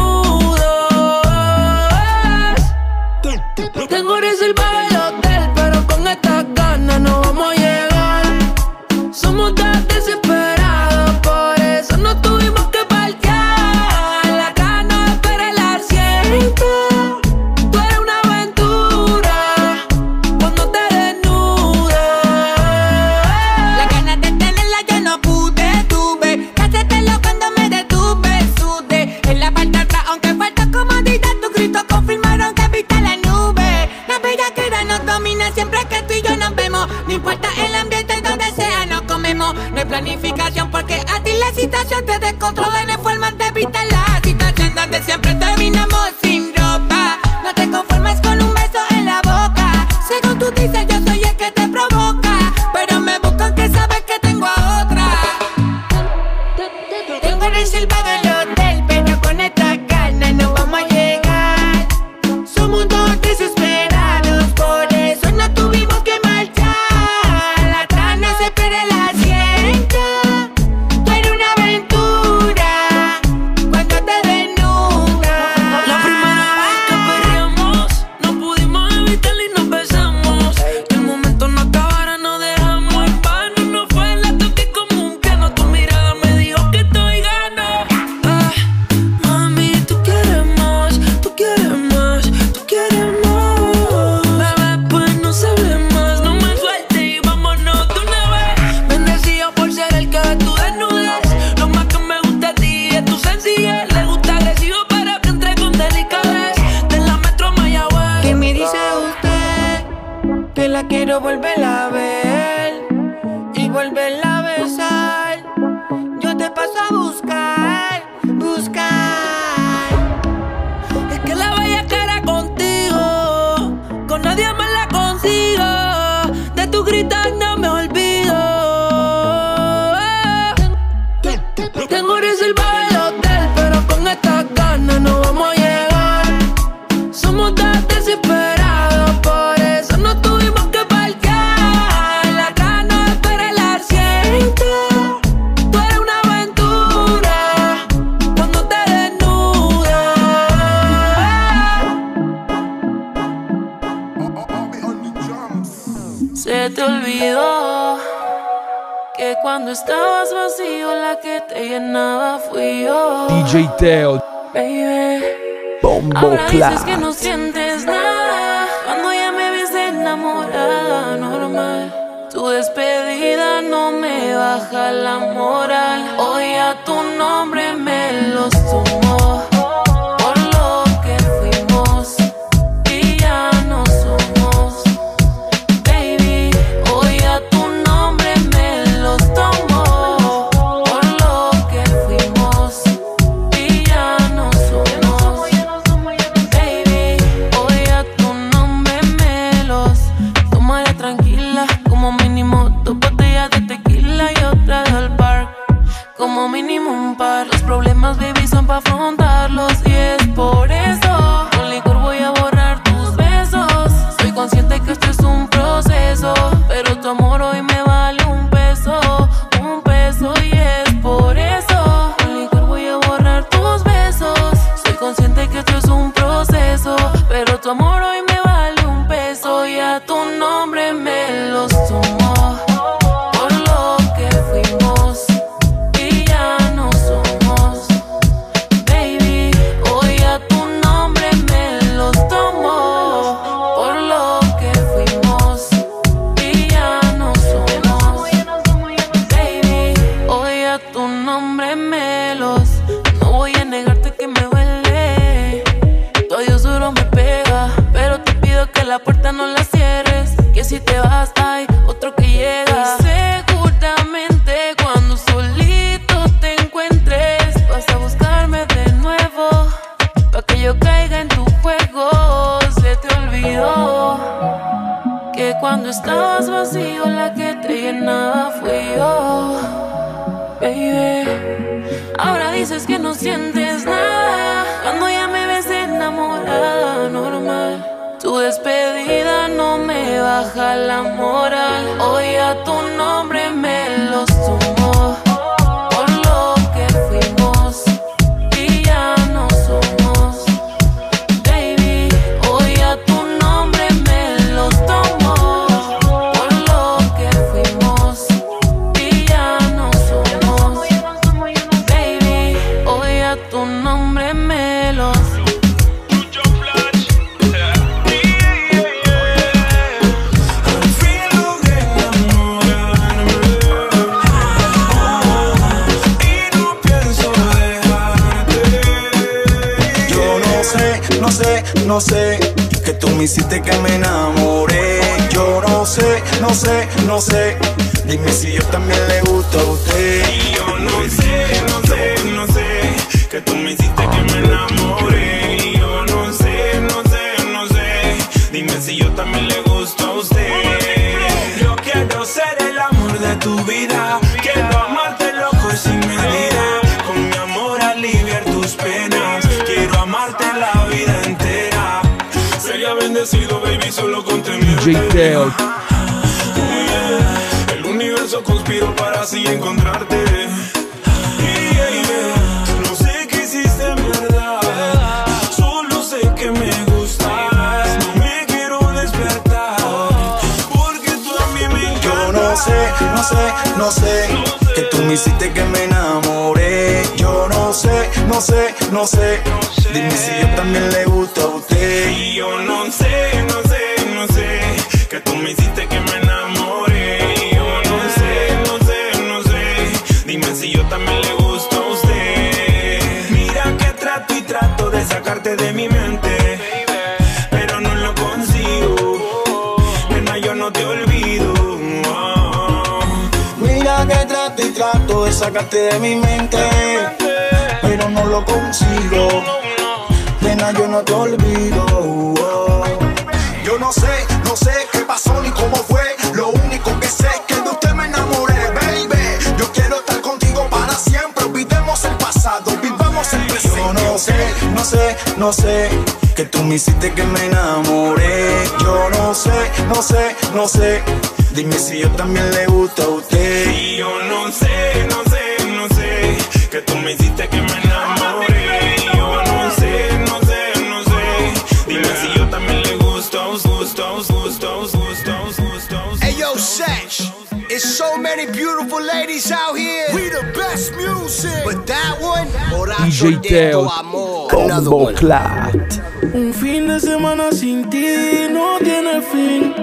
Speaker 9: desnudas. Tengo reservado el hotel, pero con estas ganas no vamos a llegar. Somos tan desesperados, por eso no tuvimos que parquear. La atrás no espera el asiento. Tú eres una aventura cuando te desnudas.
Speaker 15: Las ganas de tenerla yo no pude, tuve que hacértelo cuando me detuve, sudé. En la parte de atrás, aunque falta comodidad, tus gritos confirmaron que viste la nube. La bellaquera nos domina siempre que tú y yo nos vemos. No importa el ambiente donde sea, nos comemos. No hay planificación porque a ti la situación te descontrola. No hay forma de evitar la situación donde siempre terminamos sin ropa. No te conformes con un beso en la boca. Según tú dices, yo soy el que te provoca, pero me buscan que sabes que tengo a otra. Tengo reservado el hotel, pero con esta ganas no vamos a llegar. Somos dos desesperados, por eso no tuvimos que marchar. Atrás no se espera el asiento. Tú eres una aventura cuando te desnudas.
Speaker 9: La primera vez que perreamos, no pudimos evitarlo y nos besamos. Que el momento no acabara, no dejamos en vano. No fue el toque común que no, tu mirada me dijo que estoy gano. Ah, mami, tú quieres más, tú quieres más, tú quieres más. Bebé, pues no se hable más, no me sueltes y vámonos de una vez. Bendecido por ser el que ve tu desnudez. Lo más que me gusta de ti es tu sencillez. Le gusta agresivo, pero que entre con delicadez. De la metro a Mayagüez.
Speaker 15: ¿Qué me dice usted? Que la quiero volver a ver y volverla a besar. Yo te paso a buscar, buscar.
Speaker 9: Es que la bella cara contigo, con nadie más la consigo. De tu gritar no me olvido. Tengo reservado el hotel, pero con estas ganas no vamos a llegar. Somos tan desesperados, por eso no tuvimos que parquear. La atrás no espera el asiento. Tú eres una aventura cuando te desnudas. Se te olvidó que cuando estabas vacío la que te llenaba fui yo.
Speaker 3: D J Teo,
Speaker 9: Baby,
Speaker 3: Bombo
Speaker 9: ahora dices que
Speaker 3: Clat.
Speaker 9: no sientes nada cuando ya me ves enamorada, normal. Tu despedida no me baja la moral. Hoy a tu nombre me los tomo por lo que fuimos y ya no somos. Baby, hoy a tu nombre me los tomo por lo que fuimos y ya no somos. Baby, hoy a tu nombre me los tomaré tranquila. Como mínimo dos botellas de tequila y otra del bar. Como mínimo un par. Los problemas, baby, son pa' afrontarlos. Y es por eso con licor voy a borrar tus besos. Soy consciente que esto es un proceso, pero tu amor hoy me vale un peso, un peso. Y es por eso con licor voy a borrar tus besos. Soy consciente que esto es un proceso, pero tu amor hoy me vale un peso. Y a tu nombre me los tomo por lo que fuimos y ya no somos. Baby, hoy a tu nombre me los tomo por lo que fuimos y ya no somos. Baby, hoy a tu nombre me los. No voy a negarte que me duele. Tu adiós duro me pega, pero te pido que la puerta no la cierres, que si te vas
Speaker 4: Ahora dices que no sientes nada cuando ya me ves enamorada, normal. Tu despedida no me baja la moral. Hoy a tu nombre me los tomo por lo que fuimos y ya no somos. Baby, hoy a tu nombre me los tomo por lo que fuimos y ya no somos. Baby, hoy a tu nombre me los
Speaker 16: No sé, no sé, que tú me hiciste que me enamoré. Yo no sé, no sé, no sé, dime si yo también le gusto a usted.
Speaker 17: Y yo no sé, no sé, no sé, que tú me hiciste que me enamoré. Y yo no sé, no sé, no sé, dime si yo también le gusto a usted. Yo quiero ser el amor de tu vida, quiero amarte loco y sin medida. Con mi amor aliviar tus penas, quiero amarte la vida entera. Sería bendecido, baby, solo con tener
Speaker 3: D J Teod.
Speaker 17: Yeah. El universo conspiró para así encontrarte. Yeah. No sé qué hiciste en verdad, solo sé que me gustas. No me quiero despertar, porque tú a mí me encantas.
Speaker 16: Yo no sé, no sé, no sé, que tú me hiciste que me enamoré. Yo no sé, no sé, no sé, dime si yo también le gusto a usted.
Speaker 17: Y yo no sé, no sé, no sé, que tú me hiciste que me enamoré. Y yo no sé, no sé, no sé, dime si yo también le gusto a usted. Mira que trato y trato de sacarte de mi mente, pero no lo consigo. Nena, yo no te olvido. Oh.
Speaker 16: Mira que trato y trato de sacarte de mi mente, pero no lo consigo. Nena, yo no te olvido. Oh. Yo no sé, no sé qué pasó ni cómo fue. Lo único que sé es que de usted me enamoré, baby. Yo quiero estar contigo para siempre. Olvidemos el pasado, vivamos el presente. Yo no sé, no sé, no sé, que tú me hiciste que me enamoré. Yo no sé, no sé, no sé, dime si yo también le gusto a usted.
Speaker 17: Y yo no sé, no sé, no sé, que tú me hiciste que me enamoré. Y yo no sé, no sé, no sé, dime si yo también le gusto a usted.
Speaker 18: Hey yo, Sech, it's so many beautiful ladies out here. We the best music, but that one,
Speaker 3: D J Teod. Bombo Clat.
Speaker 11: Un fin de semana sin ti no tiene fin.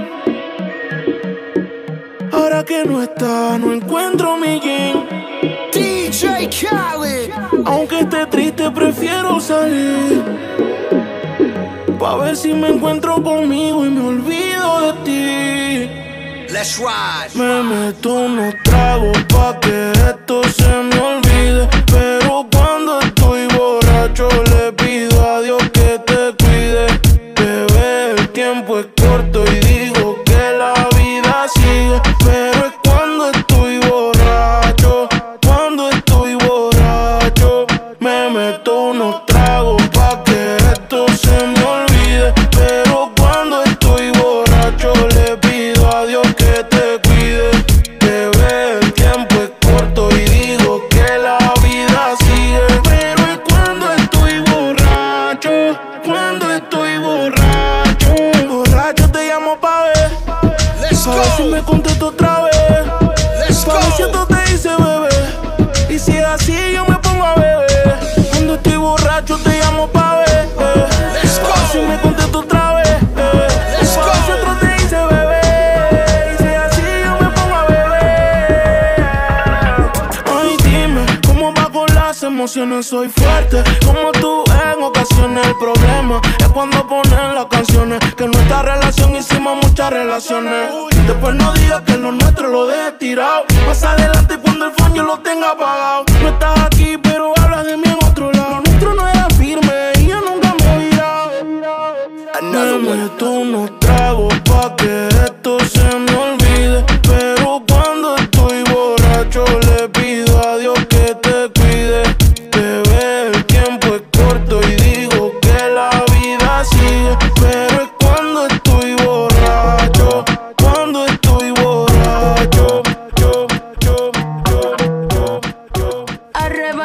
Speaker 11: Ahora que no está, no encuentro mi jean.
Speaker 18: D J Khaled.
Speaker 11: Aunque esté triste, prefiero salir, pa' ver si me encuentro conmigo y me olvido de ti.
Speaker 18: Let's ride.
Speaker 11: Me meto unos tragos pa' que esto se me olvide, pero cuando estoy borracho le pido a Dios que te cuide. Bebé, el tiempo es corto y digo que la vida sigue, pero es cuando estoy borracho, cuando estoy borracho. Me meto unos tragos pa' que esto se me olvide, pero cuando estoy borracho le pido a Dios que te cuide. Bebé, el tiempo es corto y digo que la vida sigue, pero es cuando estoy borracho, cuando estoy borracho. Borracho te llamo pa' ver, pa' ver si me contesto otra vez, pa' ver si esto te dice bebé, y si es así yo me pongo a beber. Cuando estoy borracho te llamo pa' ver, pa' ver si me contesto otra vez, pa' ver si otro te dice bebé, y si es así yo me pongo a beber. Ay, dime, ¿cómo va con las emociones? Soy fuerte, como tú en ocasiones. El problema es cuando ponen las canciones, que en nuestra relación hicimos muchas relaciones. Después no digas que lo nuestro lo dejes tirado. Más adelante cuando el phone yo lo tenga apagado. No estás aquí pero hablas de mí en otro lado. Nuestro no era firme y yo nunca me he virado. Me meto unos tragos pa' que esto se me olvide, pero cuando estoy borracho le pido a Dios que te cuide.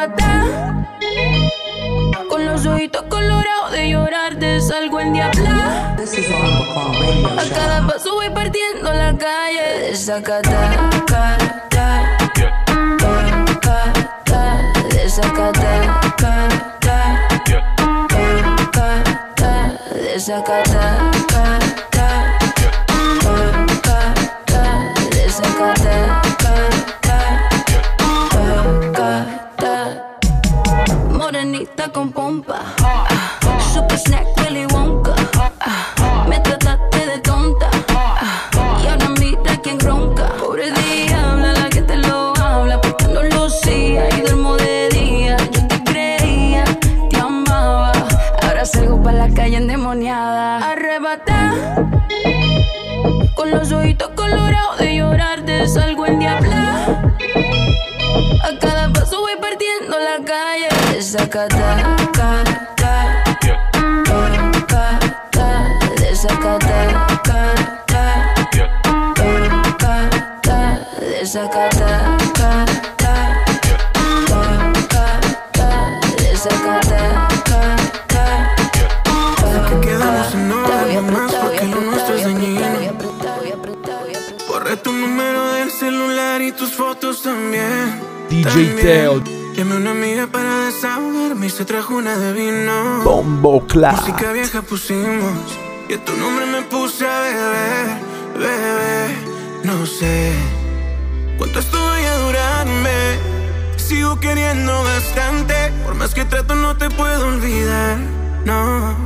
Speaker 4: arrebatada, con los ojitos colorados de llorar te salgo en diabla. A cada paso voy partiendo la calle, desacata, ca, ta, ca, ca, ta, desacata, ca, ta, ca, ca, ta, desacata, ca, ta, ca, ca, ta, desacata, ca, ca, ca, ta. Morenita con pompa, ah, super snack Willy Wonka, ah, me trataste de tonta, ah, y ahora mira quién ronca. Pobre diabla, la que te lo habla, porque no lo hacía y duermo de día. Yo te creía, te amaba, ahora salgo pa' la calle endemoniada, arrebatada, con los ojitos colorados de llorar te salgo en diabla. A cada paso voy partiendo la calle, desacata, ca, ca, ca, ca, ta, desacata, ca, ca, ca, ca, ta, desacata, ca, ca, ca, ca, ta, desacata, ca, ca, ca.
Speaker 7: Que quedamos en nada más porque lo nuestro es dañino. Borré tu número del celular y tus fotos también.
Speaker 3: D J Teo.
Speaker 7: Llamé a una amiga para desahogarme y se trajo una de vino.
Speaker 3: Bombo Clap.
Speaker 7: Música vieja pusimos y a tu nombre me puse a beber, bebé. No sé cuánto esto vaya a durarme. Sigo queriendo bastante, por más que trato no te puedo olvidar, no.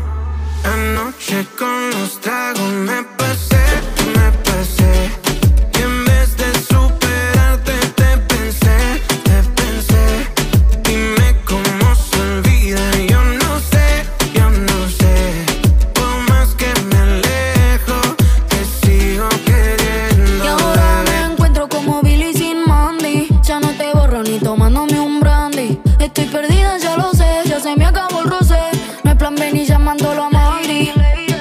Speaker 7: Anoche con los tragos me pasé, me pasé. Y en vez de superarte te pensé, te pensé. Dime cómo se olvida, yo no sé, yo no sé. Por más que me alejo, te sigo queriendo.
Speaker 4: Y ahora me encuentro como Billy sin Mandy. Ya no te borro ni tomándome un brandy. Estoy perdida, ya lo sé, ya se me acabó el roce. No hay plan B ni llamándolo a Madrid.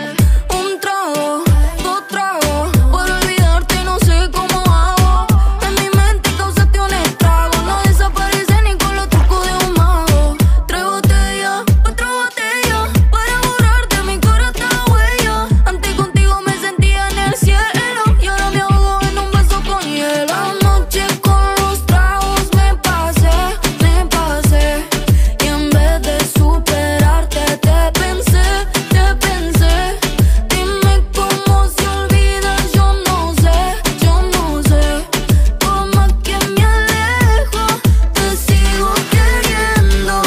Speaker 4: Un trago, dos tragos, por olvidarte no sé cómo hago. En mi mente causaste un estrago, no desaparece ni con los trucos de un mago. Tres botellas, otra botella, para borrarte mi cara esta huella. Antes contigo me sentía en el cielo y ahora me ahogo en un vaso con hielo. Anoche con los tragos me pasé, me pasé. Y en vez de superarte te pensé, te pensé. Dime cómo se olvida, yo no sé, yo no sé. Por más que me alejo, te sigo queriendo,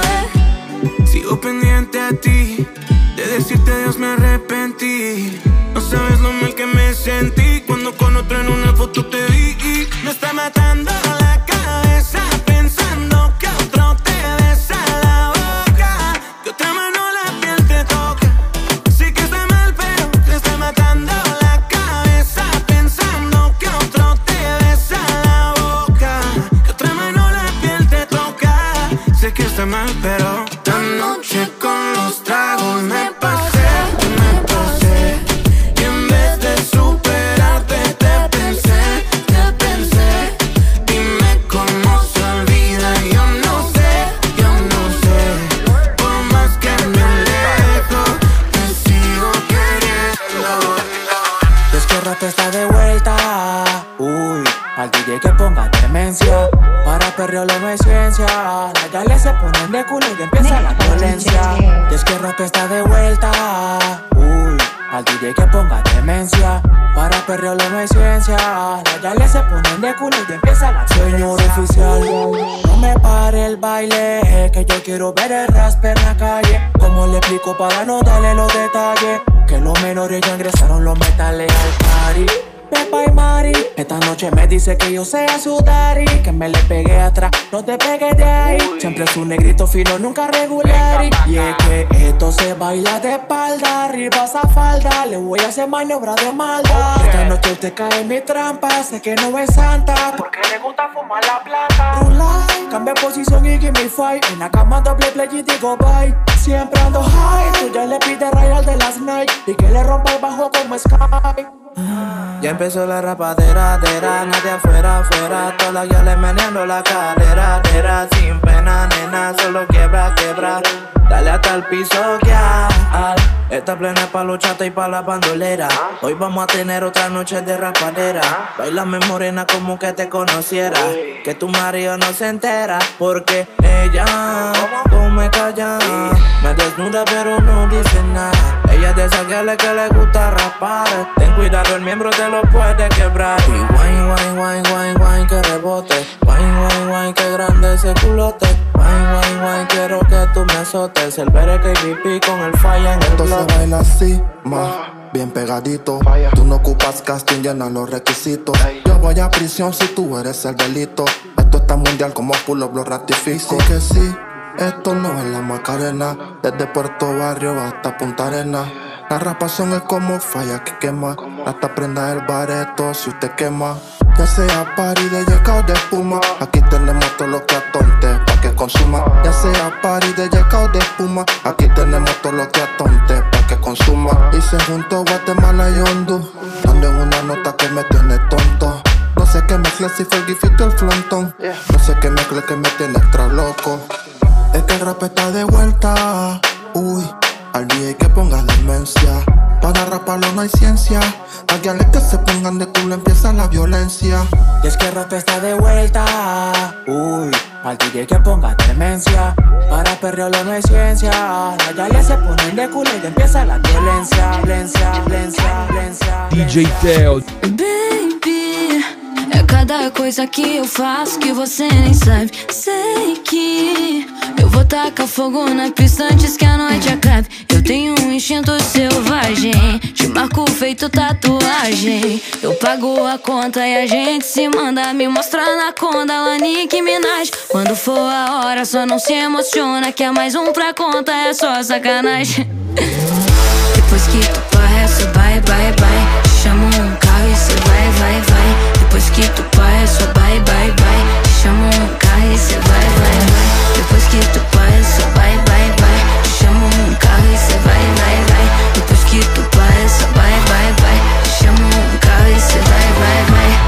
Speaker 4: bebé.
Speaker 7: Sigo pendiente a ti, de decirte adiós me arrepentí. No sabes lo mal que me sentí cuando con otro en una foto te vi. Me está matando la cabeza pensando que otro te besa la boca, que otra mano la piel te toca. Sé que está mal pero te está matando la cabeza pensando que otro te besa la boca, que otra mano la piel te toca. Sé que está mal pero anoche con los tragos me pasé, me pasé. Y en vez de superarte te pensé, te pensé. Dime cómo se olvida, yo no sé, yo no sé. Por más que me alejo, te sigo queriendo.
Speaker 19: Desquérrate está de vuelta. Uy, al D J que ponga demencia. Para perrearlo no es ciencia. Las gales se ponen de culo y empieza la violencia. Desquérrate está de vuelta. Uy, al D J que ponga demencia. Para perrearlo no es ciencia. Las gales se ponen de culo y empieza la violencia. Señor oficial, no me pare el baile, que yo quiero ver el raspe en la calle. ¿Cómo le explico para no darle los detalles? Que los menores ya ingresaron los metales al party. Pepa y Mari, esta noche me dice que yo sea su daddy, que me le pegué atrás, no te pegues de ahí. Siempre es un negrito fino, nunca regular. Y es que esto se baila de espalda, arriba esa falda, le voy a hacer maniobra de maldad. Esta noche usted cae en mi trampa, sé que no es santa, porque le gusta fumar la planta. Rulay, cambia posición y give me fight, en la cama doble play y digo bye. Siempre ando high, tú ya le pides rayal de las night, y que le rompa el bajo como Sky.
Speaker 20: Ya empezó la rapadera, dera, nadie afuera, afuera. Todas las guiales meneando la cadera, dera, sin pena,
Speaker 19: hasta el piso que hay. Esta plena es pa' los chatos y pa' la bandolera. Hoy vamos a tener otra noche de raspadera. Bailame morena como que te conociera. Que tu marido no se entera. Porque ella come calla. Me desnuda pero no dice nada. Ella es de esa que le, que le gusta raspar. Ten cuidado, el miembro te lo puede quebrar. Y wine, wine, wine, wine, wine, que rebote. Wine, wine, wine, que grande ese culote. Wine, wine, wine, quiero que tú me azotes. El bere que pipí con el falla en el
Speaker 6: Entonces
Speaker 19: bloque.
Speaker 6: baila así, más bien pegadito. Tú no ocupas casting, llena los requisitos. Yo voy a prisión si tú eres el delito. Esto está mundial como pull-up, lo ratifico. Sí que sí, esto no es la Macarena. Desde Puerto Barrio hasta Punta Arena. La rapación es como falla que quema. Hasta prenda el bareto si usted quema. Ya sea party de yeca o de espuma. Aquí tenemos todo lo que atonte pa' que consuma. Ya sea party de yeca o de espuma. Aquí tenemos todo lo que atonte pa' que consuma. Y se juntó Guatemala y Honduras, dando en una nota que me tiene tonto. No sé qué mezcla, si fue el gifito el frontón. No sé qué mezcla que me tiene extra loco. Es que el rap está de vuelta. Uy, al D J que ponga demencia. Para raparlo no hay ciencia. Hágale que se pongan de culo, empieza la violencia.
Speaker 19: Y es que el rap está de vuelta. Uy, al D J que ponga demencia. Para perrearlo no hay ciencia. Hágale se ponen de culo y empieza la violencia. Violencia, violencia, violencia.
Speaker 3: D J Theo.
Speaker 4: Baby, é cada coisa que eu faço que você nem sabe. Sei que eu vou tacar fogo na pista antes que a noite acabe. Eu tenho um instinto selvagem, te marco feito tatuagem. Eu pago a conta e a gente se manda. Me mostra na conda, lá Nicki Minaj. Quando for a hora só não se emociona, que é mais um pra conta, é só sacanagem. Depois que tu parra, só bye, bye, bye. Te chamo um carro e cê vai, vai, vai. Depois que tu parra, só bye, bye, bye. Te chamo um carro e cê vai, vai, vai. Depois que tu parra, só bye, bye, bye. Te chamo um carro e cê vai, vai, vai. Depois que tu parra, só bye, bye, bye. Te chamo um carro e cê vai, vai, vai.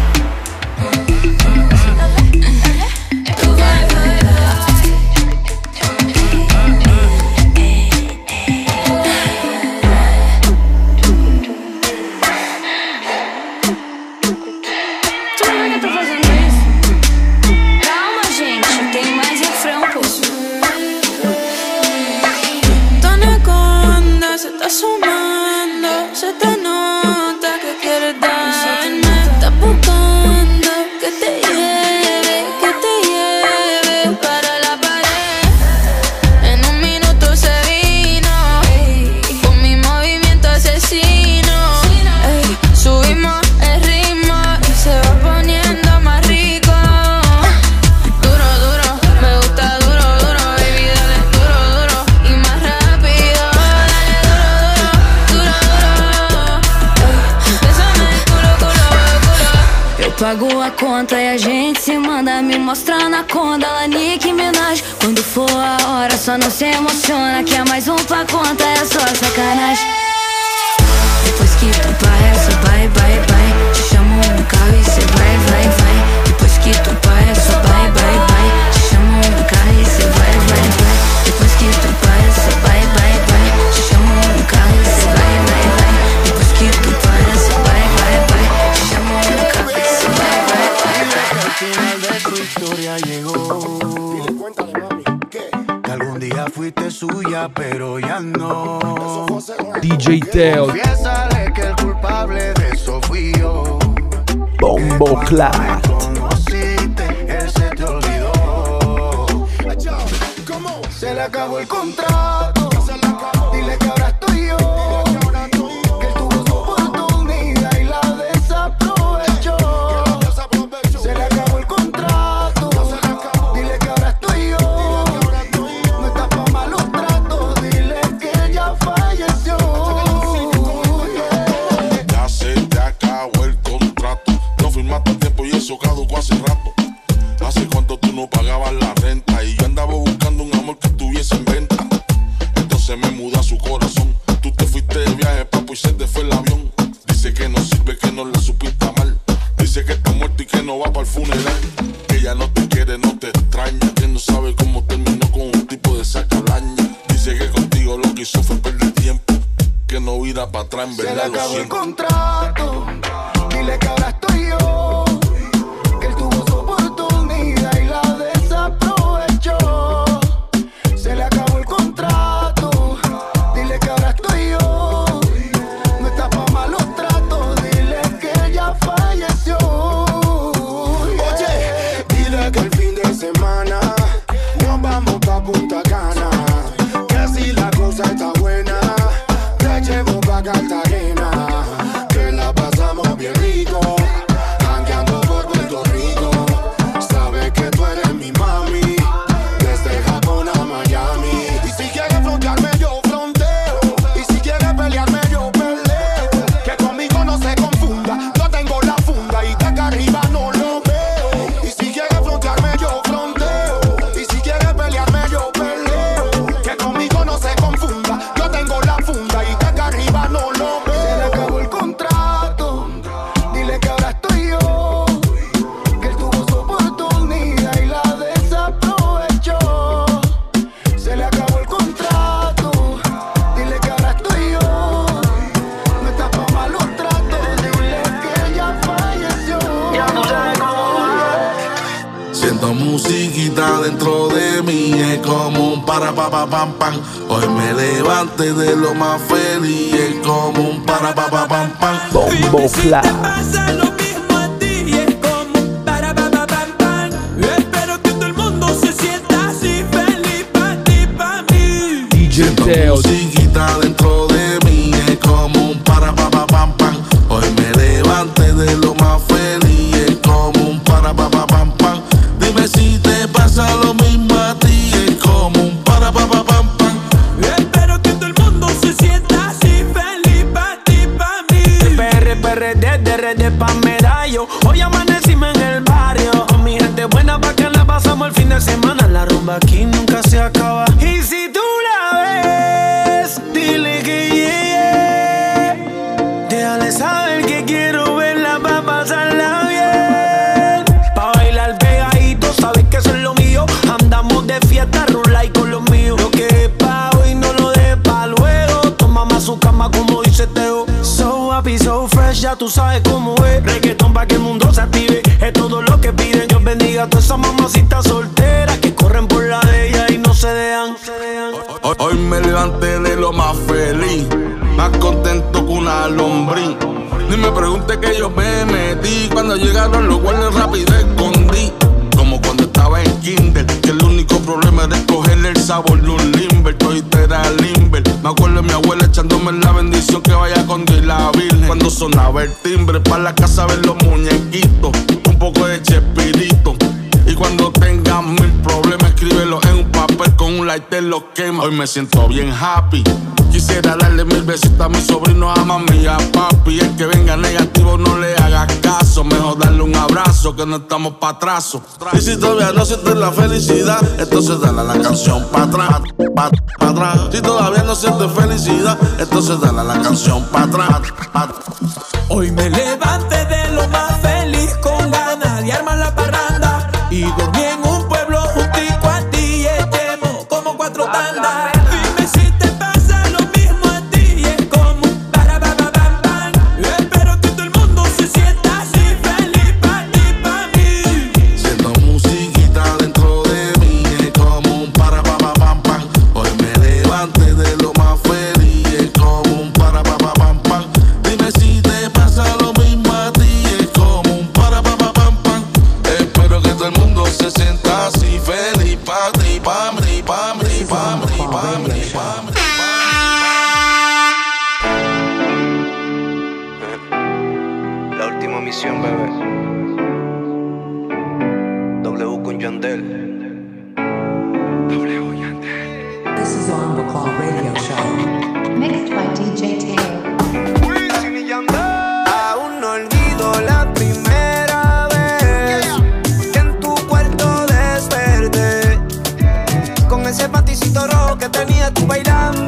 Speaker 4: Tu vai, vai, vai.
Speaker 15: Está sumando, se te nota que quieres darme. Estás buscando que te lleve, que te lleve para la pared. En un minuto se vino, con mi movimiento asesino. Ey, subimos el ritmo y se va poniendo más rico. Duro, duro, me gusta duro, duro, baby, dale duro, duro y más rápido. Pago a conta e a gente se manda. Me mostra na conda, lá Nicki Minaj. Quando for a hora só não se emociona, que é mais um pra conta, é só sacanagem. Depois que tu parra, só bye, bye, bye. Te chamo um carro e cê vai, vai, vai. Depois que tu parra, só bye, bye, bye. Te chamo um carro e cê vai, vai, vai. Depois que tu parra, só bye, bye, bye. Te chamo um carro e cê vai, vai, vai. Depois que tu parra, só bye, bye, bye. Te chamo um carro e cê vai, vai, vai.
Speaker 16: Al final de tu historia llegó. Que algún día fuiste suya, pero ya no.
Speaker 3: D J Theo.
Speaker 16: Confiésale que el culpable de eso fui yo.
Speaker 3: Bombo Clat.
Speaker 16: Conociste, él se te olvidó. Se le acabó el contrato. Dile que ahora estoy yo. Que él tuvo su oportunidad y la desaprovechó. Se le acabó el contrato. Dile que ahora estoy yo. No está pa' malos tratos. Dile que ella falleció.
Speaker 1: Ya se te acabó el contrato. No firmaste a tiempo y eso caducó hace rato. Hace cuánto tú no pagabas la renta y yo andaba buscando un amor que estuviese en venta. Entonces me mudé a su corazón. para atrás, en
Speaker 6: Se le
Speaker 1: verdad lo
Speaker 6: acabó el
Speaker 1: siento.
Speaker 6: contrato, dile que ahora estoy yo, que él tuvo su oportunidad y la desaprovechó. Se le acabó el contrato, dile que ahora estoy yo, no está pa' malos tratos, dile que ella falleció. Oye, dile que el fin de semana nos vamos pa' Punta Cana, que si la cosa está buena te llevo pa' Cartagena, que la pasamos bien rico, jangueando por Puerto Rico. Sabes que tú eres mi mami, desde Japón a Miami. Y si quieres frontearme yo fronteo, y si quieres pelearme yo peleo, que conmigo no se confunda, yo tengo la funda y de acá arriba no lo veo. Y si quieres frontearme yo fronteo, y si quieres pelearme yo peleo, que conmigo no se confunda, yo tengo la funda y de acá arriba no lo veo. Se le acabó el contrato, dile que ahora estoy yo, que él tuvo su oportunidad y la desaprovechó. Se le acabó el contrato, dile que ahora estoy yo, no está pa' malos tratos, dile que ella falleció. Ya tú sabes cómo va.
Speaker 1: Siento musiquita dentro de mí, es como un para pa pa pam pam. Hoy me levanté de lo más feliz, es como un para pa pa pam pam.
Speaker 3: Bombo Clap.
Speaker 15: Pasa lo mismo a ti y es como un para pa pa pam pam. Espero que todo el mundo se sienta así, feliz pa' ti, pa' mí.
Speaker 3: D J
Speaker 1: Siento
Speaker 3: Teo.
Speaker 1: musiquita dentro de mí, es como un para pa pa pam pam. Hoy me levanté de lo más feliz, es como un para pa pa pam pam. Dime si te pasa lo mismo a ti, es como un para pa pa pam pam.
Speaker 15: Espero que todo el mundo se sienta así, feliz pa' ti, pa' mí.
Speaker 11: P R, P R D, D R D pa' medallo. Hoy amanecimos en el barrio, con mi gente buena pa' que la pasamos el fin de semana. La rumba aquí nunca se acaba. Y si tú la ves, dile que llegue. Déjale saber que quiero verla pa' pasarla bien. Pa' bailar pegadito, sabes que eso es lo mío. Andamos de fiesta, rola y con los míos. Lo que es pa' hoy no lo dejes pa' luego. Toma más su cama como dice Teo. So happy, so fresh, ya tú sabes cómo es. Reggaetón pa' que el mundo se active, es todo lo que piden. Dios bendiga a todas esas mamacitas solteras que corren por la de ella y no se dejan.
Speaker 1: Hoy, hoy me levanté de lo más feliz, más contento que una lombriz. Ni me pregunte que yo me metí, cuando llegaron los guardias rápido escondí. Como cuando estaba en kinder, que el único problema era escogerle el sabor de un limber. Todito era limber. Me acuerdo de mi abuela echándome la bendición que vaya con Dios y la Virgen. Cuando sonaba el timbre, para la casa ver los muñequitos, un poco de chespirito. Y cuando tengas mil problemas, escríbelo en un papel, con un lighter lo quema. Hoy me siento bien happy. Quisiera darle mil besitos a mi sobrino, a mami y a papi. El que venga negativo no le hagas caso, mejor darle un abrazo que no estamos pa' atrás. Y si todavía no sientes la felicidad, entonces dale a la canción pa' atrás, pa' pa atrás. Si todavía no sientes felicidad, entonces dale a la canción pa' atrás, pa'
Speaker 15: Hoy me levanté de lo más feliz, con ganas de armar la parranda. Y dormí en un pueblo juntico a ti y echemos como cuatro tandas. Dime si te pasa lo mismo a ti y es como un para pa pa pam pam. Espero que todo el mundo se sienta así, feliz pa' ti, pa' mí.
Speaker 1: Siento musiquita dentro de mí, es como un para pa pa pam pam. Hoy me levanté de lo más feliz, es como un para pa pa pam pam. Dime si te pasa lo mismo a ti, es como un para pa pa pam pam. Espero que todo el mundo se sienta así, feliz pa' ti, pa' mí, pa' mí, pa' mí, pa' mí, pa' mí.
Speaker 21: La última misión, bebé. W con Yandel. W Yandel.
Speaker 2: This is Bombo Clap Radio Show. Mixed by D J Teo.
Speaker 6: Aún no olvido la primera vez que en tu cuarto desperté con ese paticito rojo que tenía tú bailando.